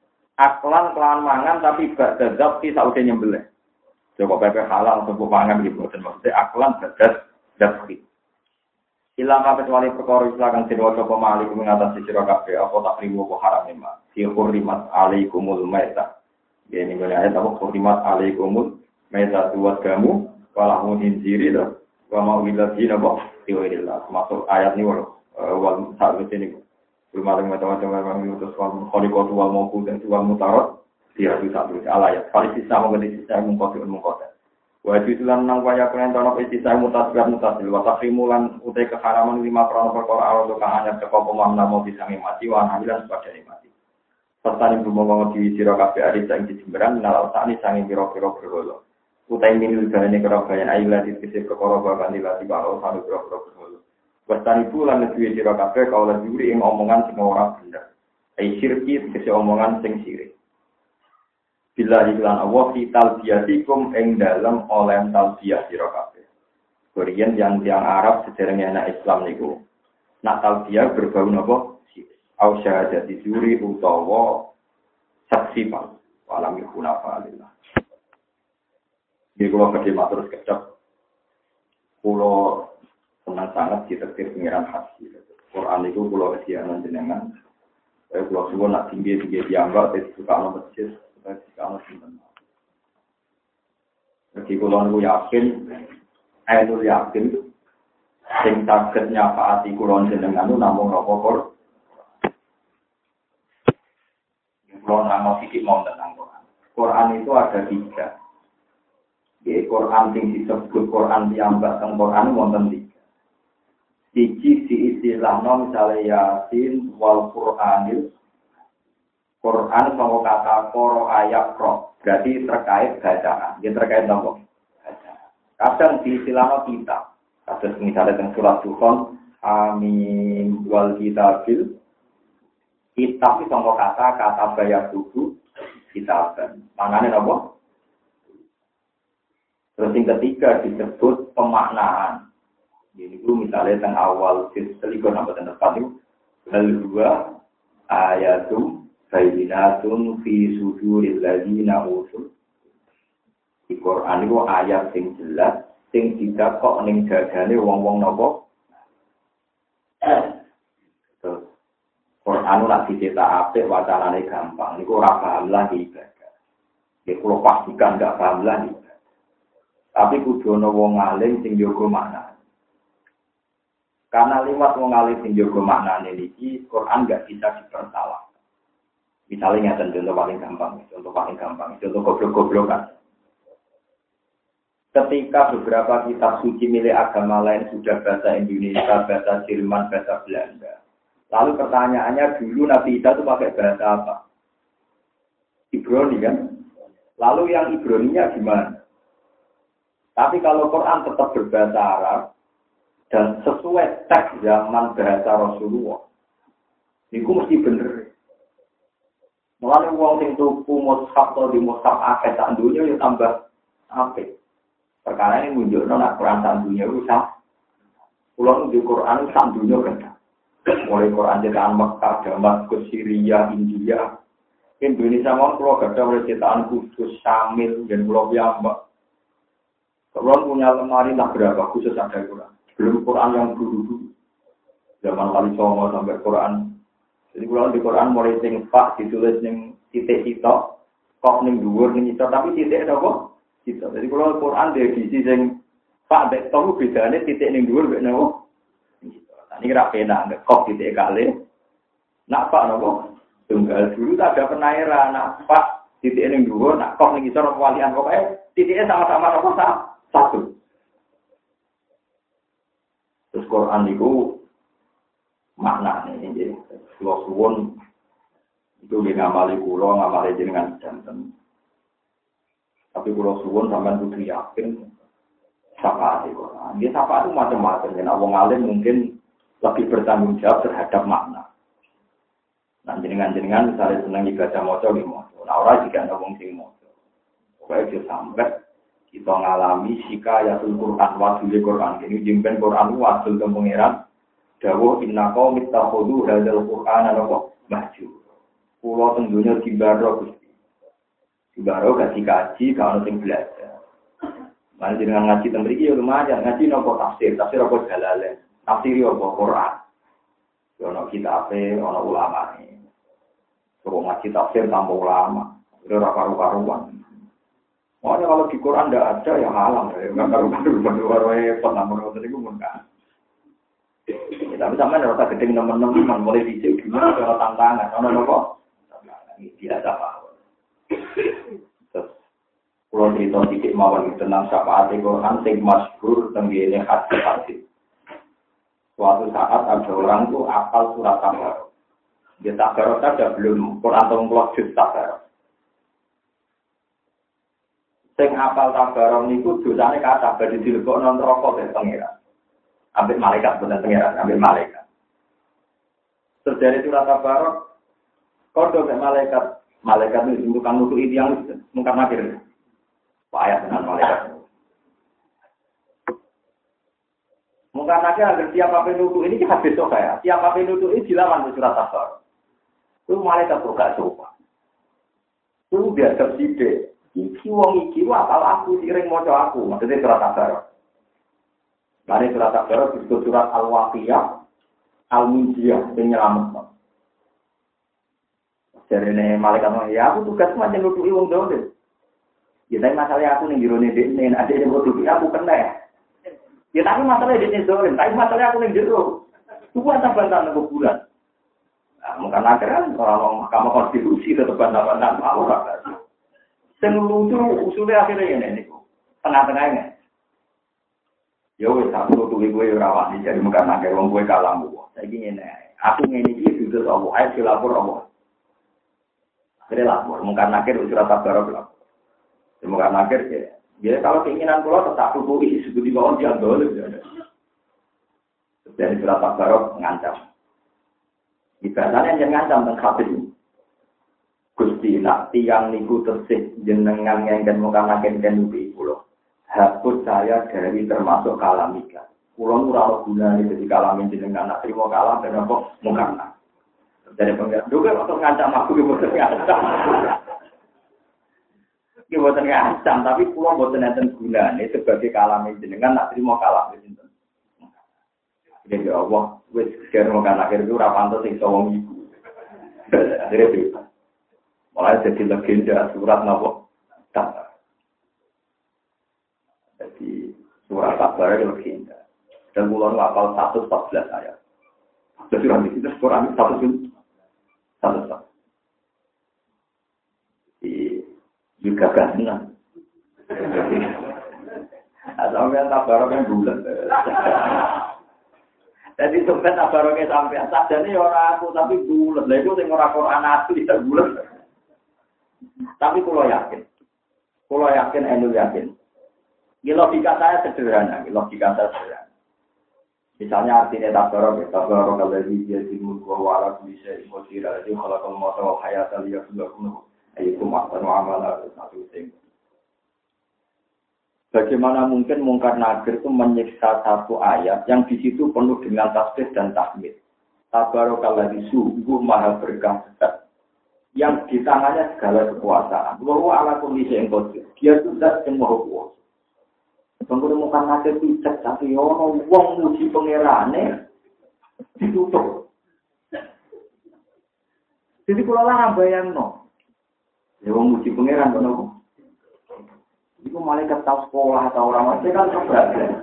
Aklan kelan mangan tapi gak dadap ki saude nyembelih. Coba pepe halal untuk mangan iki boten mesti aklan dadat dapki. Ilang kabeh wali perkara Islam kang sira coba malik mengatasi sira kabeh apa takrimu apa haram nema. Fi hurrimat alaikumul maitah. Ini mulai ayat apa? Khurimat alaikumul maitatu wasgamu walahu hinziri dah wa ma wilati nabo tiwirillah. Masuk ayat ini wal wal saat ini belum ada macam-macam memang itu soal khaliqat wal mawqud dan wal mutarad dia itu satu ayat. Kalau sisa mengenai sisa mengkotir mengkotir. Wa itulan nang waya kalian tono sisa mutasbih mutasil wa takrimulan utai keharaman lima perkara perkara awal kang anyar saka pemamna mau bisa mati wa hamilan sebagai mati. Serta ibu mau di siro kafe ari sang dijemberan nalar sani sangi piro-piro berholo. Utai minil galane kerabayan ayla di sisi perkara bakan dilati karo sanu piro-piro berholo. Wastani bulan duwe siro kafe kaula juri ing omongan sing ora bener. Ai syirki sisi omongan sing sirik. Bila iklan Allah fital biatikum ing dalem oleh talbiyah siro kafe. Korean yang tiang Arab sederenge anak Islam niku. Nak talbiyah berbau napa? Au syahadati juri utawa saksi pal walam yakuna falillah. Di kula badhe matur kecap kula senang sangat ditetir pengiran hati. Quran itu kula kesianan jenengan. Saya kula suwun nak tinggi-tinggi diambak dadi tukang masjid, dadi tukang sinten. Jadi kula niku yakin, ainul yakin sing saged nyafaati kula jenengan namung rokok. Kalau nama fikih mau tentang Quran. Quran itu ada tiga. Di Quran yang disebut Quran diambak tentang Quran wonten tiga. Siji di istilahnya misalnya Yasin wal Quranil. Quran sama kata koro ayat pro. Berarti terkait bacaan. Dia terkait apa? Bacaan. Kadang di istilahnya kitab. Kadang misalnya tentang surat Dukhan. Amin wal kitabil. Kitab itu sama kata kata bayar buku kitab. Mananya apa? Terus yang ketiga disebut pemaknaan. Jadi itu misalnya tentang awal selikur sampai tentang tempat itu. Kedua ayatum bayinatun fi suduril ladina usul. Di Quran itu ayat yang jelas, yang tidak kok ning dadane wong-wong nopo. Quran ora dicetak apik wacanane gampang. Niku ora paham lagi ibadah. Ya kula pastikan enggak paham lagi. Tapi kudu ana wong alim sing njogo makna. Karena lewat wong alim sing njogo maknane niki Quran enggak bisa dipersalah. Misalnya ngeten contoh paling gampang, contoh paling gampang, contoh goblok-goblokan. Ketika beberapa kitab suci milik agama lain sudah bahasa Indonesia, bahasa Jerman, bahasa Belanda. Lalu pertanyaannya dulu Nabi Isa itu pakai bahasa apa? Ibrani kan? Lalu yang Ibraninya gimana? Tapi kalau Quran tetap berbahasa Arab dan sesuai teks zaman bahasa Rasulullah, itu mesti bener. Mulane wong sing tuku mushaf atau di mushaf akeh sak dunya ya tambah apik. Perkara ini nunjukno nek Quran sak dunya ku sak. Kulo di Quran sak dunya kan. Mulai Quran cetakan Mekah, Damaskus, Syria, India. Indonesia mau kulo gadah oleh cetakan Kudus, Syamil, dan Pulau Piyambak. Kulo punya lemari tak berapa khusus ada Quran. Belum Quran yang dulu-dulu. Zaman Wali Songo sampai Quran. Jadi kalau di Quran mulai sing pak ditulis ning titik sitok, kok ning dhuwur ning sitok tapi titik napa? Sitok. Jadi kalau Quran di edisi sing pak dek telu bedane titik ning dhuwur mek napa? Sitok. Ini kira pena nek kok titik kali. Nak pak napa? Tunggal dulu tak ada penairan, nak pak titik ning dhuwur, nak kok ning sitok walian pokoke titiknya sama-sama napa satu. Terus Quran niku makna ini jadi kalau suwon itu dia ngamali kulo ngamali jenengan jantan tapi kalau suwon sampai butuh yakin syafaat itu dia syafaat itu macam-macam dan awang alim mungkin lebih bertanggung jawab terhadap makna nah jenengan-jenengan misalnya senang ibadah moco di moco nah orang juga ada wong sing moco pokoknya dia sampai kita ngalami sikayatul Quran wadul Quran ini jimpen Quran wadul ke pengeran dawuh inna qaum ittakhadhu hadzal qur'ana mahjur. Kulo teng donya dibaro Gusti. Dibaro gaji kaji kalau sing belajar. Mari jenengan ngaji teng mriki ya lumayan ngaji nopo tafsir, tafsir apa jalalain. Tafsir apa Quran. Yo ono kitabe, ono ulamane. Suruh ngaji tafsir tambah ulama. Ora karu-karuan. Makanya kalau di Quran ndak ada ya halang ya. Enggak karu-karuan repot namun ngoten niku mun kan. Ya, tapi sampai rasa gedeng teman-teman mulai dicek gimana kalau tantangan, ono nopo, ini tidak apa. Terus pulau cerita sedikit mawon tentang syafaat Quran sing masyhur tenggene hadis-hadis. Suatu saat ada orang tuh apal surat Tabarok. Dia Tabarok saja belum Quran tong juz Tabarok. Sing apal Tabarok niku dosane kathah badhe dilebokno neraka dening pangeran. Ambil malaikat benar pengiran, ambil malaikat. Terjadi surat Tabarok, kodoh ke malaikat, malaikat itu untuk kamu itu yang mungkin akhir. Pak ayat dengan malaikat. Mungkin akhir agar siapa penutup ini kita besok ya. Siapa penutup ini dilawan di surat Tabarok. Itu malaikat bergak sopan. Itu biar tersidik. Iki wong iki apal aku sering moco aku, maksudnya surat Tabarok. Mari surat Tabarok disebut surat Al-Waqiyah, Al-Munjiyah, yang nyelamat. Jadi ini malaikat ngomong, ya aku tugas macam nutupi wong dolim. Ya tapi masalahnya aku nih jero nih, ada yang nutupi aku kena ya. Ya tapi masalahnya dia dolim, tapi masalahnya aku nih jero. Tunggu bantah-bantah nunggu bulan. Nah, mungkin akhirnya orang Mahkamah Konstitusi tetap bantah-bantah mau lah. Yang lucu usulnya akhirnya ini, tengah-tengahnya. Ya wis aku tuku kowe ora wani jadi mungkin akeh wong kowe kalah mbok. Saiki ngene. Aku ngene iki dudu Allah, ae dilapor Allah. Akhirnya lapor, mungkin akhir surat Tabarok lapor. Mungkin akhir ya. Jadi kalau keinginan kula tetap tuku isi suku di bawah dia dolem ya. Dari surat Tabarok ngancam. Ibadahnya yang ngancam teng hadis. Gusti nak tiyang niku tersih jenengan ngengken mungkin akhir den nubi kula. Hapus saya dari termasuk kalamika. Kulon ora gunane dadi kalamin jenengan nak trimo kalam dan apa mungkana. Dari pengen juga untuk ngancam aku ki boten ngancam. Ki boten ngancam tapi kulon boten enten gunane sebagai kalamin jenengan nak trimo kalam sinten. Jadi Allah wis kira mungkin akhir itu ora pantes sing sawang iku. Akhirnya bebas. Mulai jadi legenda surat napa? Tak. Jadi surat Tabarok itu legenda. Dan mulai hafal seratus empat belas ayat. Jadi surat itu Quran seratus satu. Juga gak Asal yang tabarok yang bulat. Jadi sampai tabaroknya sampai sajane ya ora aku tapi bulat. Lah iku sing ora Quran asli ya bulat. Tapi kalau yakin, kalau yakin, enu yakin. Ini logika saya sederhana, logika saya sederhana. Misalnya artinya tabarok, tabarok kalau dia dimulk wala bisa imosira, jadi kalau kamu mau tahu hayat aliyah sudah kuno, ayo kumat amalah satu thing. Bagaimana mungkin mungkar nakir itu menyiksa satu ayat yang di situ penuh dengan tasbih dan tahmid. Tabarakalladzi sungguh maha berkah yang di tangannya segala kekuasaan. Wa ala kulli syai'in qadir. Dia itu zat yang maha kuasa. Bangkune mungkar nakir itu cek tapi ono wong muji pangerane ditutup. Jadi kula lah bayangno. Ya wong muji pangeran kono. Itu malaikat tahu sekolah atau orang masih kan terbaik.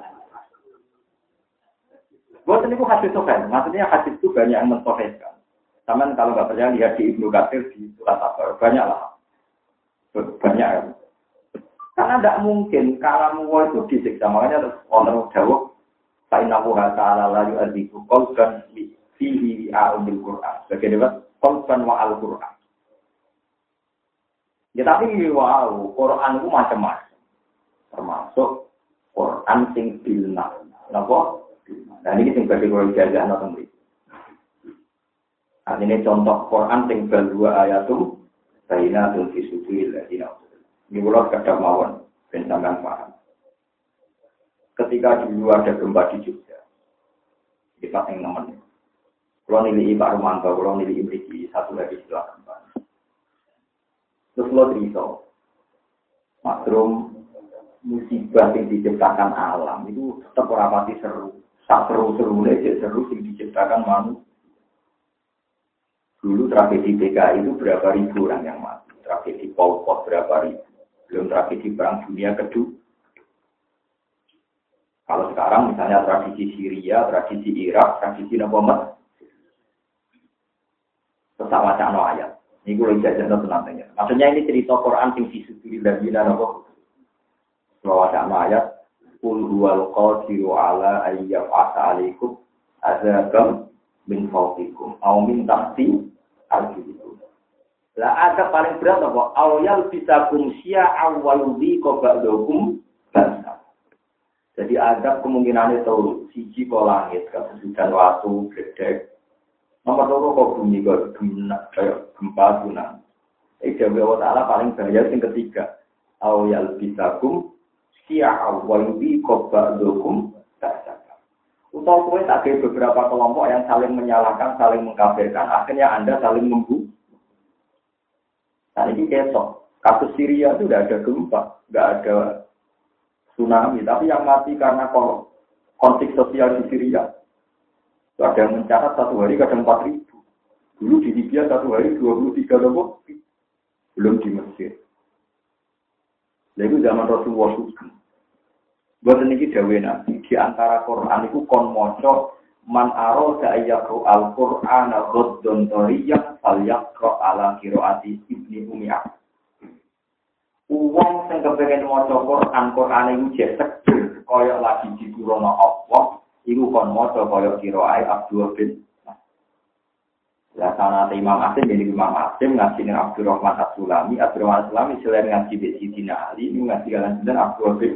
Buat ini hadis sokan, maksudnya hadis itu banyak yang mensohkan. Taman kalau nggak percaya lihat di Ibnu Katsir di surat At-Tabar banyak lah, banyak. Karena tidak mungkin kalau mau itu disiksa makanya orang jawab, Sainahu Taala layu adiku kolkan fihi al Quran. Bagaimana kolkan wa al Quran. Ya tapi wow, Quran itu macam-macam. Termasuk Quran sing bilna. Napa? Nah ini sing badhe kula jajakno teng mriki. Artinya contoh Quran sing dua ayatum bainatul fisudil ladina. Ini kula kadang mawon ben sampean paham. Ketika dulu ada gempa di Jogja. Di Paseng Nemen. Kula nilai Pak Romanto, kula nilai mriki satu lagi setelah gempa. Terus kula cerita. Makrum musibah yang diciptakan alam itu tetap ora pati seru. Sak seru-seru aja seru yang diciptakan manusia. Dulu tragedi B K I itu berapa ribu orang yang mati. Tragedi Pol Pot berapa ribu. Belum tragedi Perang Dunia Kedua. Kalau sekarang misalnya tradisi Syria, tradisi Irak, tradisi Nabamat. Tetap wacana ayat. Ini gue lagi jajan nantinya. Maksudnya ini cerita Quran yang disebut dari Nabamat. Kalau ada ayat, Qul huwal qadiru ala ayyaf asa alaikum azabam min fawqikum aw min tahti arjulikum. Lah ada paling berat apa? Awyal bisakum syi'a wa yudhiqa ba'dakum ba'sa. Jadi ada kemungkinan itu siji kok langit, kesusudan waktu, gede. Nomor loro kok bumi kok gempa tsunami. Eh Allah Ta'ala paling bahaya yang ketiga. Awyal bisakum syi'a wa yudhiqa ba'dakum ba'sa. Utau kowe tak ada beberapa kelompok yang saling menyalahkan, saling mengkafirkan. Akhirnya Anda saling membunuh. Nah ini kesok. Kasus Syria itu tidak ada gempa, tidak ada tsunami. Tapi yang mati karena konflik sosial di Syria. Ada yang mencatat satu hari kadang empat ribu. Dulu di Libya satu hari dua puluh tiga ribu. Belum di Mesir. Lalu zaman Rasulullah Sugeng. Buat ini dawe nabi di antara Quran itu kon moco man aroda ayakro al Quran al-Ghaddon Toriyah al-Yakro ala kiroati ibni Umiyah. Uang yang kepengen moco Quran Quran itu jesek koyok lagi di Quran Allah. Iku kon moco koyok kiroai Abdul bin. Ya sana Imam Asim jadi Imam Asim ngaji dengan Abdurrahman As-Sulami, Abdurrahman As-Sulami selain ngaji di Sidina Ali, ini ngaji jalan dan Abdul bin.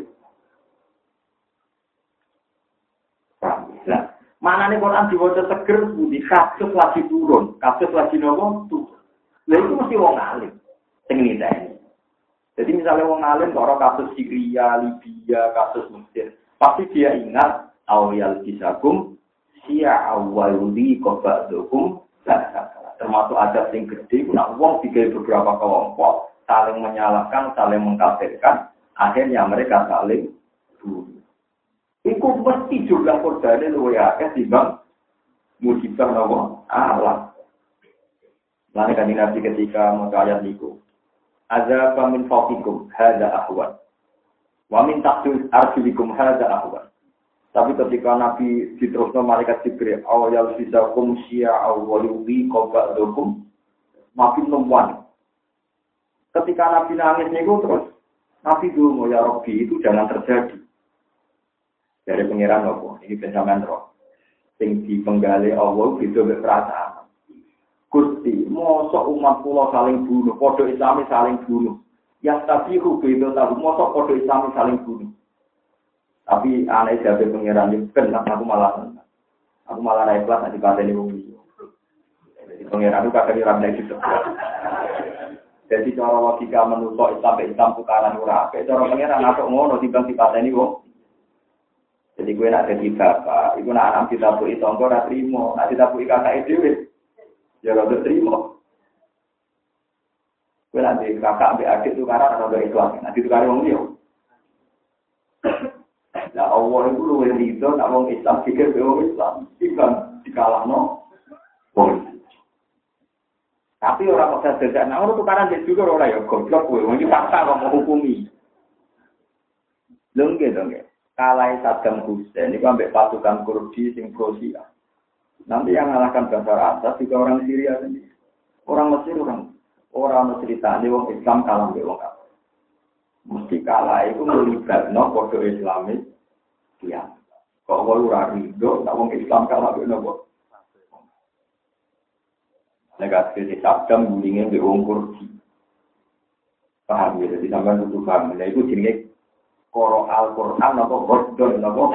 Nah, mana nih Quran diwaca seger, di kasus lagi turun, kasus lagi nopo turun. Nah itu mesti wong alim, sing niteni. Jadi misalnya wong alim kalau kasus Syria, Libya, kasus Mesir, pasti dia ingat awal bisakum sia awaludi kobadukum. Termasuk ada yang gede, nak wong tiga beberapa kelompok saling menyalahkan, saling mengkafirkan, akhirnya mereka saling bunuh. Iku mesti jumlah korbannya luwih akeh timbang musibah nopo alam. Lan kan Nabi ketika maca ayat niku, azza min fawqikum hadza ahwan. Wa min tahti arjulikum hadza ahwan. Tapi ketika Nabi diterusno malaikat Jibril, awal bisakum syi'a wa yudhi qaba'dukum makin nomwan. Ketika Nabi nangis niku terus Nabi dulu ya Rabbi itu jangan terjadi. Dari pengiran nopo, ini pencaman roh. Sing dipenggali Allah itu berperasaan. Gusti, mosok umat kula saling bunuh, podo Islami saling bunuh. Yang tapi itu tahu, mosok podo Islami saling bunuh. Tapi aneh jadi pengiran itu kan aku malah, aku malah naik kelas nanti pada ini bumi. Jadi pengiran itu kadang orang naik itu. Jadi cara logika menusuk Islam Islam tukaran ura, cara pengiran atau ngono tiba tiba pada ini bumi. Jadi gue nak jadi bapak, itu nak anak kita bui tonggo nak terima, nak kita bui kakak itu, ya kalau terima. Gue nanti kakak ambil adik itu karena ada Islam, nanti itu karena orang dia. Nah Allah itu luar itu, nak orang Islam pikir orang Islam, bukan dikalah no. Tapi orang bisa sedang, nah orang tukaran dia juga orang ya goblok gue, mungkin paksa orang mau hukumi. Lengge dongge. Kalai Saddam Hussein itu ambil pasukan Kurdi sing pro-Syiah. Nanti yang mengalahkan Bashar Assad juga orang Syria sendiri. Orang Mesir orang orang Mesir tadi orang Islam kalah ambil orang kafir. Mesti kalah itu melibatno kode Islamis dia. Kok ora rido nek wong Islam kalah ambil nopo. Negatif di Saddam bullying mbek wong Kurdi. Paham ya, jadi sampean kudu paham. Lha iku jenenge Koro Al-Quran atau Rodon atau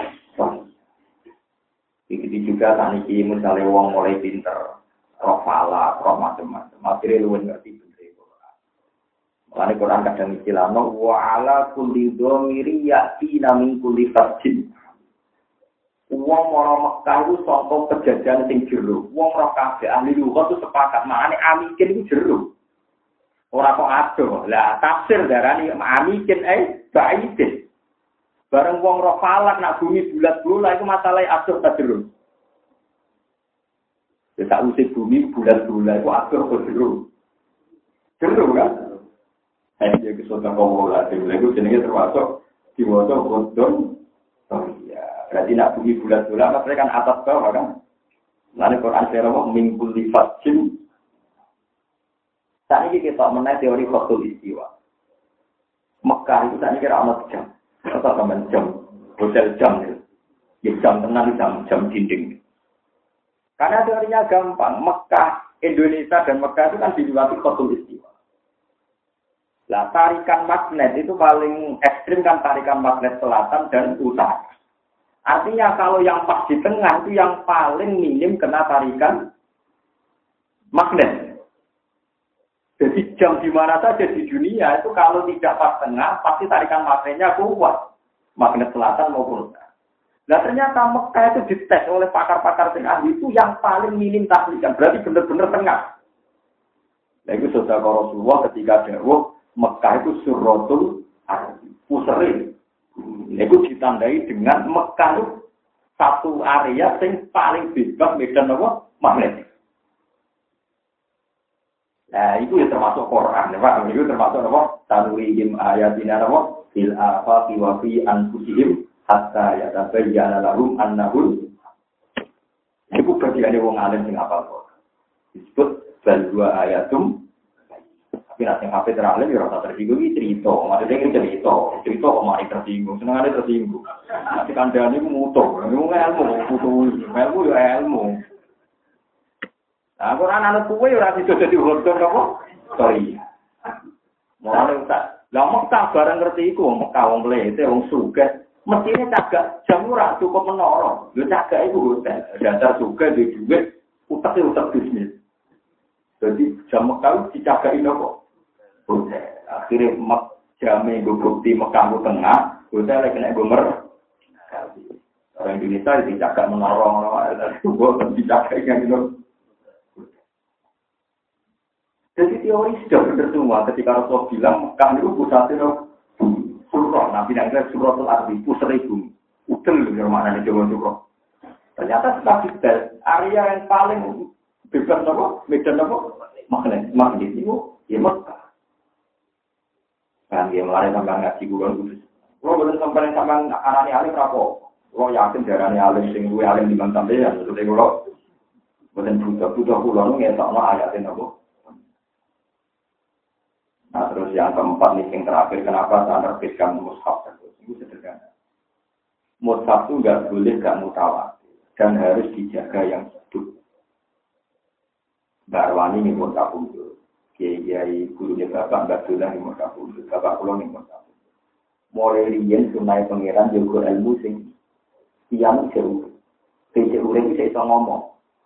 begitu juga tadi misalnya wong mulai pinter roh fala, roh macam-macam akhirnya lu ngerti bener Quran makanya Quran kadang istilahnya wa ala kulli dhamiri ya'tina min kulli fajin wong orang Mekah itu contoh kejadian sing jero wong roh kabeh ahli lughat itu sepakat maknane amikin itu jero ora kok ado lah tafsir darani amikin eh baidin bareng wong roh falak nak bumi bulat-bulat itu masalah atur ta jero. Ya tak usih bumi bulat-bulat itu atur ta jero. Jero kan? Eh ya kesotan komo lah itu jenenge termasuk diwaca Qur'an. Oh iya, berarti nak bumi bulat-bulat maksudnya kan atas bawah kan. Lalu Quran sira wong mingkul lifajin. Saiki kita meneh teori khatul istiwa. Mekah itu tadi kira ana jam. Atau teman jam, hotel jam, ya jam tenang jam jam dinding. Karena teorinya gampang, Mekah, Indonesia dan Mekah itu kan dilewati khatul istiwa. Lah tarikan magnet itu paling ekstrim kan tarikan magnet selatan dan utara. Artinya kalau yang pas di tengah itu yang paling minim kena tarikan magnet. Jadi jam di mana saja di dunia itu kalau tidak pas tengah, pasti tarikan magnetnya kuat. Magnet selatan maupun utara. Nah ternyata Mekah itu dites oleh pakar-pakar tengah itu yang paling minim tarikan. Berarti benar-benar tengah. Nah itu saudara Rasulullah ketika dawuh Mekah itu surratul ardi. Puseri. Nah itu ditandai dengan Mekah itu satu area yang paling bebas medan apa? Magnetik. Nah, itu ya termasuk Quran, ya Pak. Itu termasuk apa? Tanurihim ayatina apa? Fil afaqi wa fi anfusihim hatta yatabayyana lahum annahu. Itu bagian wong alim sing apal kok. Disebut bal dua ayatum. Tapi nek sing hafid alim ya ora tersinggung iki cerita. Maksudnya ini cerita, cerita kok mari tersinggung, senengane tersinggung. Nanti kandhane mutu, ilmu ilmu, ilmu ya ilmu. Nah, Quran anak kuwe ora bisa dadi hodon apa? Sorry. Mulane tak. Lah Mekah bareng ngerti iku, Mekah wong mlete, wong sugih, mestine cagak jam ora cukup menara. Lho cagak iku hotel, dasar sugih duwe dhuwit, utek-utek bisnis. Jadi jam Mekah dicagaki napa? Hotel. Akhire mek jame nggo bukti Mekah ku tengah, hotel kena gomer. Orang Indonesia dicagak menara ngono, kok dicagaki kan itu. Jadi teori sudah benar semua ketika Rasulullah bilang Mekah itu pusatnya surah, Nabi Nabi suratul ardi, pusat bumi. Udel loh yang mana nih Jawa surah. Ternyata setelah kita area yang paling bebas apa, medan apa, magnet, magnet itu ya Mekah. Kan dia melalui sampai ngaji bulan kudus. Kalau boleh sampai sampai anaknya alim rapo, kalau yakin darahnya alim, sing gue alim di mana sampai ya, sudah kalau boleh buta buta pulau nggak tahu ayatnya apa. Nah terus yang keempat nih yang terakhir, kenapa saya menerbitkan mushaf terus? Itu sederhana. Mushaf itu nggak boleh nggak mutawatir dan harus dijaga yang hidup. Mbak Arwani ini mushaf undur, kiai gurunya bapak nggak boleh ini mushaf undur, bapak pulang ini mushaf undur. Mulai riyen sunai pangeran juga ilmu sing tiang jauh, jauh itu saya bisa ngomong.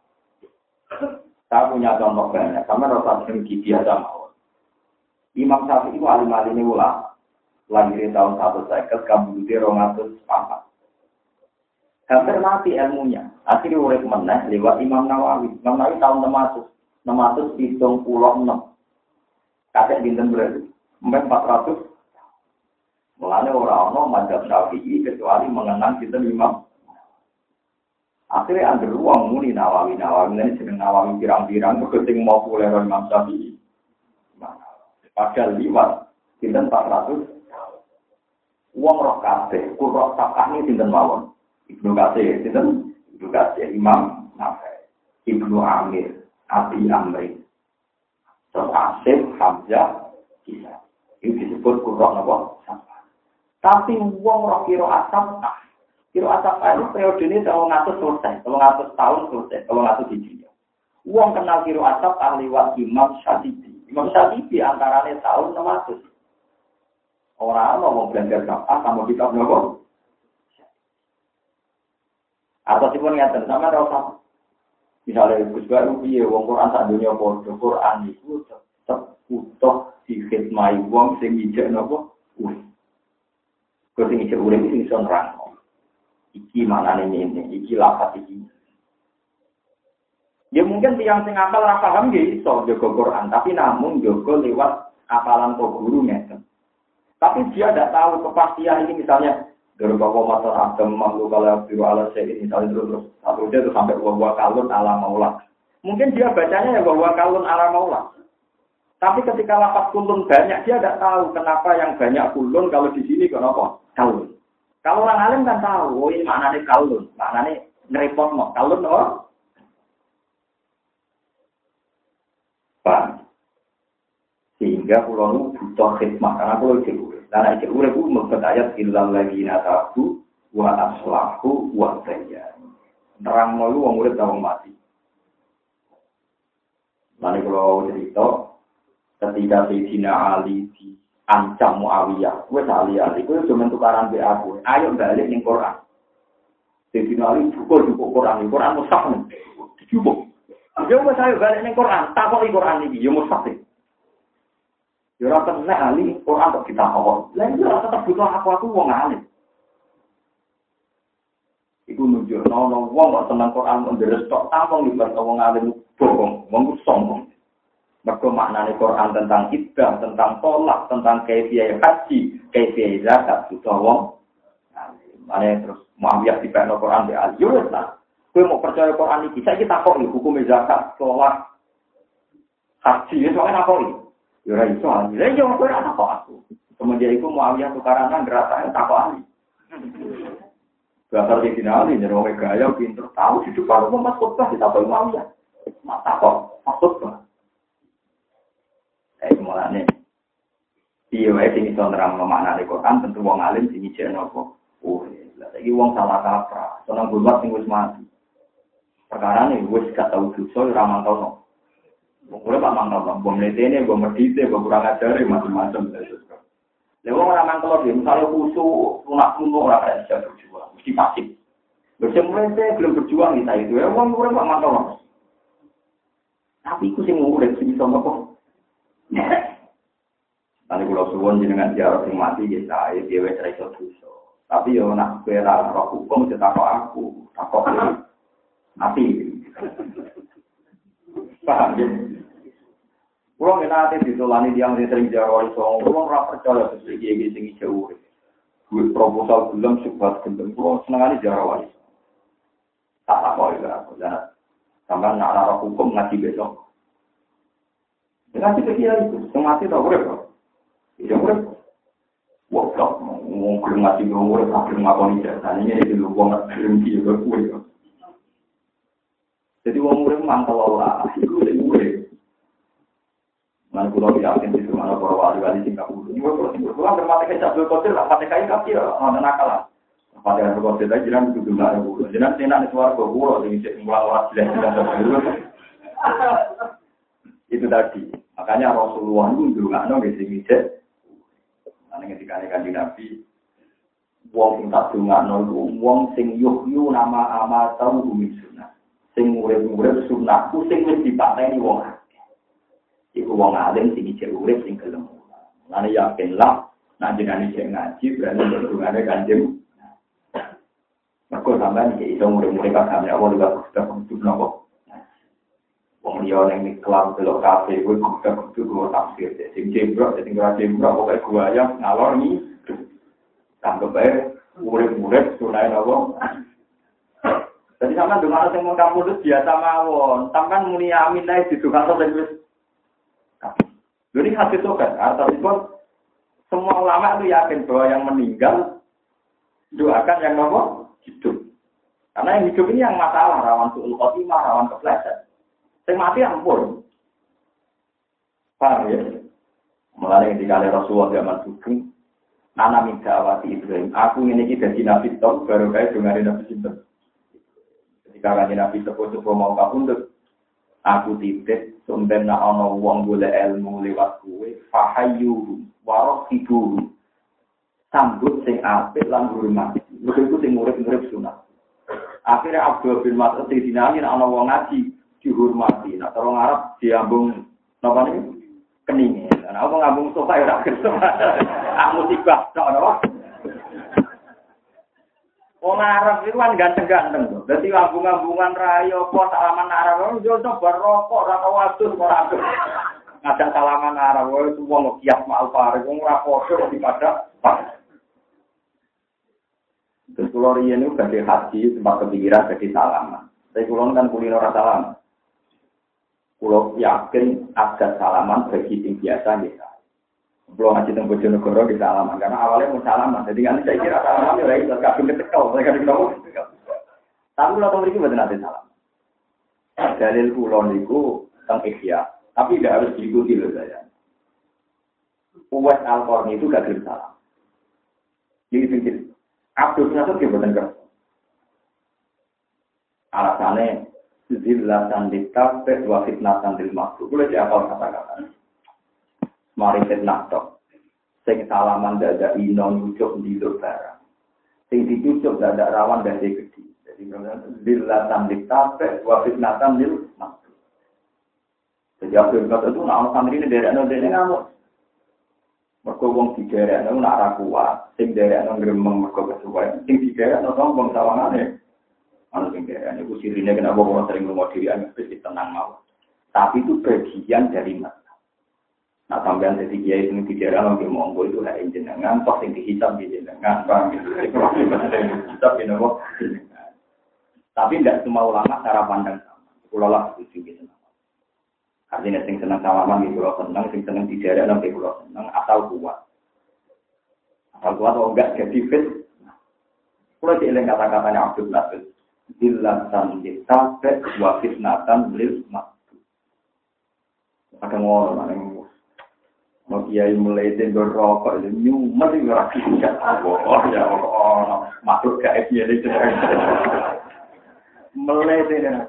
Saya punya contoh banyak, sama rasa sering biasa mau. Imam Syafi'i itu alim-alim ini ulama. Lahir tahun satu seket, kabudutnya dua ratus empat. Hampir mati ilmunya. Akhirnya urip meneh lewat Imam Nawawi. Imam Nawawi tahun enam ratus. enam ratus tujuh puluh enam. Kakek dinten berarti. empat ratus. Mulanya orang-orang mazhab Syafi'i kecuali mengenang dinten Imam. Akhirnya ada ruang muni Nawawi. Nawawi ini jeneng Nawawi pirang-pirang. Keting mau populer Imam Syafi'i. Padahal liwat, sinten empat ratus. Uang roh kabeh, kurang sapah ini sinten mawon. Ibnu Katsir, sinten Ibnu Katsir, Imam Nawawi, Ibnu Amir, Abi Amri, terus Asim, Hamzah, Isa. Ini disebut kurang apa? Sapah. Tapi uang roh kiro asap, kiro asap itu periode ini kalau ngatus selesai, kalau ngatus tahun selesai, kalau ngatus hijriah. Uang kenal kiro asap ahliwat Imam Syafi'i. Imam Syafi'i antaranya tahun enam ratus. Orang mau belajar apa sama kitab nopo. Atau sih pun ngerti sama rasa. Misalnya Gus Baru piye wong Quran sak dunia padha Quran iku tetep utuh dikhidmati wong sing ijek nopo. Wis. Kok sing ijek urip sing iso nerangno. Iki manane ngene, iki lafaz iki. Ya mungkin tiang sing apal ora paham nggih iso jaga Quran, tapi namun jaga lewat apalan kok guru ngeten. Tapi dia tidak tahu kepastian ini misalnya dari bahwa masalah agam mamlu kalau biru ala saya misalnya terus terus satu dia itu sampai bahwa kalun ala maula. Mungkin dia bacanya ya bahwa kalun ala maula. Tapi ketika lafaz kulun banyak dia tidak tahu kenapa yang banyak kulun kalau di sini kenapa kalun. Kalau orang alim kan tahu, oh ini maknanya kalun, maknanya ngerepot mau kalun oh. Paham? Sehingga pulau butuh khidmat karena pulau jauh. Karena jauh itu membuat ayat ilal lagi natabu wa aslahu wa sayya. Nerang malu wong urip ta wong mati. Mane kalau cerita ketika Sayyidina Ali di ancam Muawiyah, wes Ali Ali kuwi cuma tukaran be aku. Ayo balik ning Quran. Sayyidina Ali cukup-cukup Quran, Quran mushaf. Cukup. Yo wis ayo balik ning Quran, takoki Quran iki yo mustahil. Yo ora tenan ali Quran kok ditakok. Lah yo ora tetep butuh aku-aku wong alim. Iku nunjukno ono wong kok seneng Quran ndres tok tampung libat wong alim bohong, wong sombong. Mergo maknane Quran tentang ibadah, tentang tolak, tentang kaifiyah haji, kaifiyah zakat butuh wong alim. Mane terus Muawiyah dipekno Quran be ali. Yo wis lah. Kowe mau percaya Quran iki, saiki takok lho hukum zakat, sholat, haji, wis wae takoki. Ya ora iso, lha yo kowe ora takok aku. Kemudian iku Muawiyah tukaran gerasane takok ali. Bakal di finali nyero gaya pinter tahu hidup kalau Mas khotbah ditakoki Muawiyah. Mak takok, maksud apa? Eh mulane piye wae sing iso nerangno maknane Quran tentu wong alim sing ijeno apa. Oh, lha saiki wong salah kaprah, seneng buat sing wis mati. Perkara ini, gue gak tahu dosa, ora mantau. Gue pak mantau, gue mletene, gue medite, gue kurang ajar, macam-macam. Lalu orang mantau dia, misalnya khusus, lunak-lunak orang kaya bisa berjuang, mesti pasif. Bersama mlete belum berjuang kita itu, ya gue gue pak mantau. Tapi aku sih ngurek sih sama kok. Tadi kalau suwon jenengan jarang sing mati, ya saya dia wes raiso dosa. Tapi yo nak bela roh hukum, cetakok aku, takok ini. Mati. Paham ya? Kalau kita nanti ditolani yang sering jawab soal, kalau orang percaya sesuatu yang tinggi jauh, duit proposal belum sebuah gendeng, kalau senang jawab itu, tak apa itu aku jangan sampai nak arah hukum ngaji besok. Ngaji kecil itu, semati tak boleh kok, tidak boleh. Wah, mau ngaji boleh, tapi ngakoni jasanya itu lu banget berhenti juga boleh. Jadi wong urip mantau Allah, iku sing urip. Lan kula yakin di rumah para wali-wali sing kabur. Iku kula kula bermate kecap kotor lah, mate kai kaki ana nakal. Pada kotor tadi jiran kudu ndak kulo. Jiran tenan suara kulo sing sing mulai jelas. Itu tadi. Makanya Rasulullah itu ndongakno nggih sing ijek. Ana ketika Kanjeng Nabi wong sing tak dongakno iku wong sing yuhyu nama ama tau min sunnah. Sing urip-urip sunnahku sing wis dipateni wong. Iku wong alim sing ijek urip sing gelem. Lan yakin lah nek jenenge sing ngaji berarti hubungane Kanjeng. Mergo sampeyan iki iso urip-urip kagame apa lha kok kudu nopo. Wong liya ning kelam delok kafe kuwi kudu kudu tafsir. Sing jembrok sing ora jembrok pokoke gua ya ngalor ni. Tanggep bae urip-urip sunai nopo. Jadi sampeyan donga sing mung kamu biasa mawon. Sampeyan muni amin ae didongakno wis jadi hadis sokan, artinya semua ulama itu yakin bahwa yang meninggal doakan yang nopo hidup. Karena yang hidup ini yang masalah, rawan suul khotimah, rawan kepleset. Yang mati ampun. Paham ya? Mulai ketika ada Rasulullah zaman sugeng, nana minta awati Ibrahim. Aku ini kita di Nabi Tom, baru kaya dengar Nabi Sinten. Ketika kanjeng Nabi sepuh-sepuh mau kapundhut, aku titip sumben nak ana wong golek ilmu lewat kuwe fahayu warasibu sambut sing apik lan hormat iku sing urip-urip sunah. Akhirnya Abdul bin Mas'ud dinani nek ana wong ngaji dihormati nek cara Arab diambung napa niku keninge nek apa ngambung sofa ya ora kersa ah musibah tok napa wong Arab itu kan ganteng-ganteng tuh. Dadi ambung-ambungan rayo apa salaman Arab yo coba rokok ora tau adus ora adus. Ngajak salaman Arab wae wong kias mal pare wong ora padha dipada. Terus kula riyen niku badhe haji sempat kepikiran badhe salaman. Tapi kula kan kulino ora salaman. Kula yakin ada salaman bagi sing biasa nggih. Belum ngaji tentang Bojonegoro di salaman karena awalnya mau salaman, jadi kan saya kira salaman ya lagi kabin ketekau, mereka diketahui. Tapi kalau tahu ini betul nanti salam. Dalil kulon itu tentang ikhya, tapi tidak harus diikuti loh saya. Uwais Al-Qarni itu gak kirim salam. Jadi pikir, Abdul Nasir dia bukan kerja. Alasannya zillatan ditafet wa fitnatan dil makhluk. Boleh diapal kata-kata. Mari fitnah tok. Sing salaman dadak ino nyucuk ndiluk barang. Sing dicucuk dadak rawan dadi gedhi. Jadi zillatan ditafet wa fitnatan dil makhluk. Jadi Abdul Nasir itu nak santri ini derekno dene ngamuk. Mergo wong diderekno nak ra kuat, sing derekno gremeng mergo kesuwen, sing diderekno sombong sawangane. Ana sing derekno iku sirine kenapa wong sering ngomong dhewean wis tenang mau. Tapi itu bagian dari mas. Nah, sampean jadi kiai sing dijarah nang monggo itu hak jenengan, toh sing dihisab di jenengan, paham gitu. Hisab ini kok. Tapi tidak semua ulama cara pandang sama. Kula lah setuju gitu. Artinya sing seneng salaman gitu, kula seneng, sing seneng dijarah nang kula seneng, asal kuat. Asal kuat atau enggak jadi fit. Kula dieling kata-katanya Abdul Nasir. Dillatan ditafet wa fitnatan lil makhluk. Ada ngono nang mau kiai mulai tendor rokok itu nyumet itu rakyat tidak oh ya oh masuk ke F Y L itu mulai tendor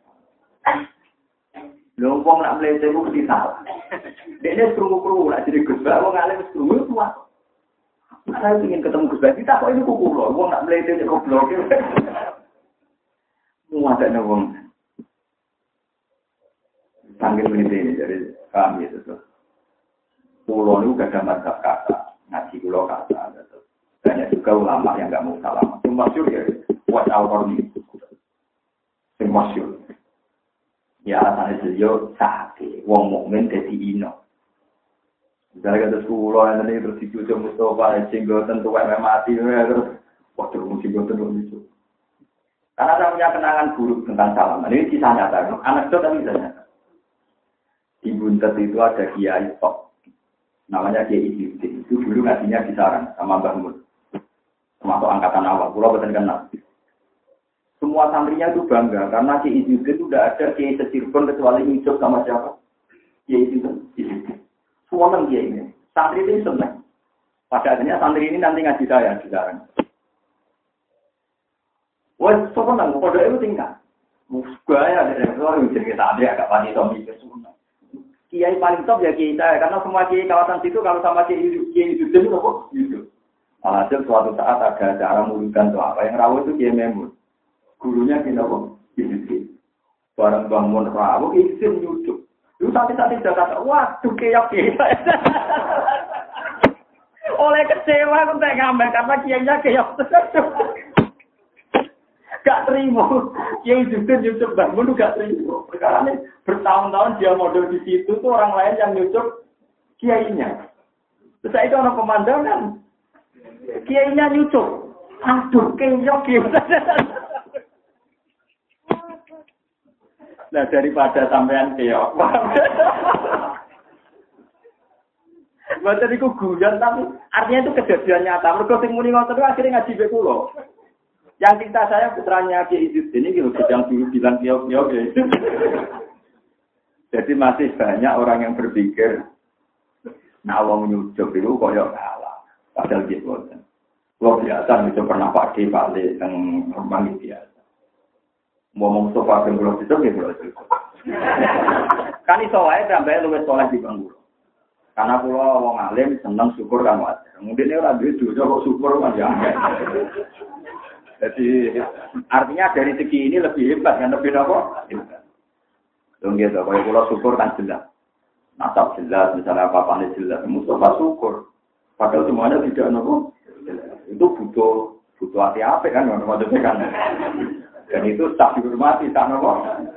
lompong nak mulai tendor di salah dia seru seru nak jadi gus bah orang alim seru itu apa saya ingin ketemu gus bah kita kok ini kuku loh orang nak mulai tendor goblok mau ada nongong panggil ini jadi kami itu tuh pulau itu gak ada mazhab kata, ngaji pulau kata. Banyak juga ulama yang gak mau salam. Yang masyur ya, Uwais Al-Qarni. Yang masyur. Ya alasannya beliau sakit. Wong mukmin jadi ino. Misalnya kata pulau yang tadi terus dicucuk Mustafa, jenggotan tuh kayak mati. Terus, wah terus jenggotan terus itu. Karena saya punya kenangan buruk tentang salaman. Ini kisah nyata. Anak itu tapi kisah nyata. Di Buntet itu ada kiai top. Namanya Kiai Izzuddin. Itu dulu ngajinya di sarang sama Mbah Mun. Termasuk angkatan awal. Pulau betul kenal. Semua santrinya itu bangga karena Kiai Izzuddin itu tidak ada Kiai Secirebon kecuali hidup sama siapa? Kiai Izzuddin. Suweneng dia ini. Santri ini seneng. Pada akhirnya santri ini nanti ngaji saya di sekarang. Wah, suweneng. Kode itu tingkat. Gaya dari orang yang jadi santri agak panik tom itu semua. Kiai paling top ya kiai saya. Karena semua kiai kawasan situ kalau sama kiai kiai itu itu kok gitu. Alhasil suatu saat ada acara mulutan atau apa yang rawuh itu kiai Memun. Gurunya kita kok gitu. Barang bangun rawuh izin nyucuk. Lu santai-santai sudah kata, waduh keok kiai. Oleh kecewa aku tak ngambil karena kiainya keok. Gak terima. Kiai juga nyucuk bangun gak terima. Perkara ini bertahun-tahun dia model di situ tuh orang lain yang nyucuk kiainya. Terus itu orang pemandangan. Kiainya nyucuk. Aduh keok kiai. Nah daripada sampean keok. Mboten iku guyon tapi artinya itu kejadian nyata. Mergo sing muni ngoten itu akhirnya ngaji be kula. Yang cerita saya putranya Ki Izzuddin ini gitu yang dulu bilang keok-keok ya. Jadi masih banyak orang yang berpikir nah wong nyucuk itu koyo kalah. Padahal gitu. Kalau biasa itu pernah pakai balik yang rumah biasa. Ngomong sofa yang belum itu, ya belum itu. Kan iso wae sampai luwes soleh di bangku. Karena pulau wong alim seneng syukur kan wajar. Mungkin ini orang duit kok syukur kan ya. Jadi artinya dari segi ini lebih hebat kan lebih apa? Hebat. Dong gitu, kalau pulau syukur kan jelas. Nasab jelas, misalnya apa-apa jelas. Mustafa syukur. Padahal semuanya tidak nopo. Itu butuh butuh hati-hati kan, maksudnya kan. Dan itu tak dihormati, tak nopo.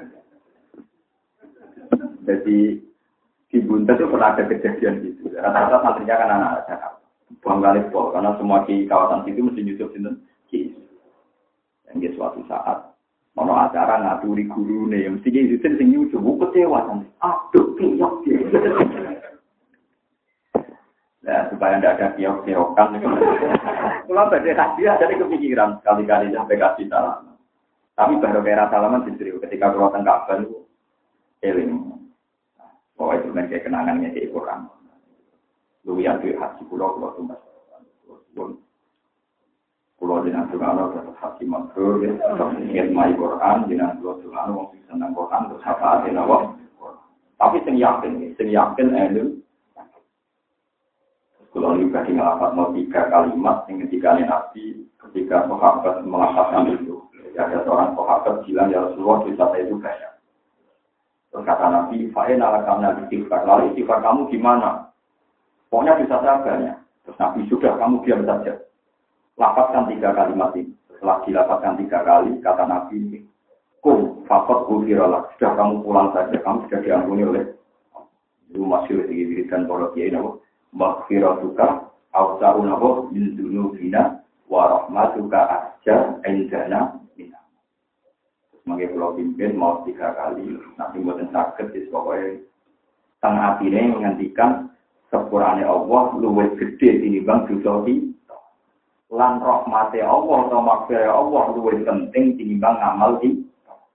Jadi di Buntes itu pernah ada kejadian gitu. Rata-rata santrinya kan anak-anak Jakarta. Buang kali pol, karena semua di kawasan situ mesti nyusup sinten Ki. Dan di suatu saat mau acara ngaturi guru nih, mesti Ki itu sing nyusup, kecewa santri. Aduh, kiok gitu. Nah, supaya tidak ada kiok-kiokan. Kalau badai hadiah jadi kepikiran sekali-kali sampai kasih salam. Tapi baru kira salaman sendiri ketika keluar tengah ban itu eling. Oh itu kan kayak kenangannya di Quran. Lu yang di hati pulau pulau tumbas. Pulau jenang Tuhan terus hati makrul ya. Ingat mai Quran jenang pulau Tuhan wong senang Quran terus apa ada nawa. Tapi sing yakin, sing yakin elu. Kalau juga ngelapat mau tiga kalimat yang ketika Nabi ketika sahabat mengatakan itu. Ada seorang sahabat bilang ya Rasulullah kita itu kaya. Terus kata Nabi, "Fa'in ala kamna istighfar." Lalu istighfar kamu gimana? Pokoknya bisa saya banyak. Terus Nabi sudah kamu diam saja. Lapatkan tiga kalimat ini. Setelah dilapatkan tiga kali, kata Nabi ini, "Kum fakot ghufiralak." Sudah kamu pulang saja, kamu sudah diampuni oleh itu masih diberikan para kiai nabo. Maghfiratuka awsa'un nabo min dzunubina wa rahmatuka asja indana. Sebagai pulau pimpin mau tiga kali, nanti buatan sakit, jadi pokoknya tengah hati ini menghentikan sepurane Allah luwes gede tinimbang dosa kita. Lan rahmate Allah atau maghfirah Allah luwes penting tinimbang ngamal kita.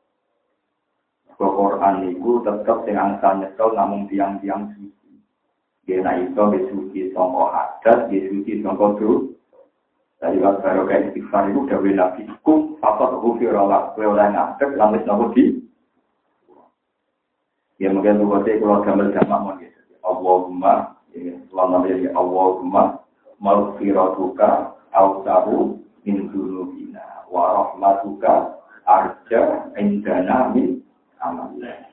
Quran itu tetap dengan angsa nyekel namun tiang-tiang suci. Dia naik itu suci sangka hadas, dia suci sangka dosa. Dari waktu baru kayak istighfar itu udah beli nabi kum fakot ghufirallah kowe ora ngadeg lan wis nopo di ya mungkin buatnya kalau gambar jamak mau gitu Allahumma ya selama dari Allahumma maghfiratuka awsahu min dzunubina wa rahmatuka arja indana min amalna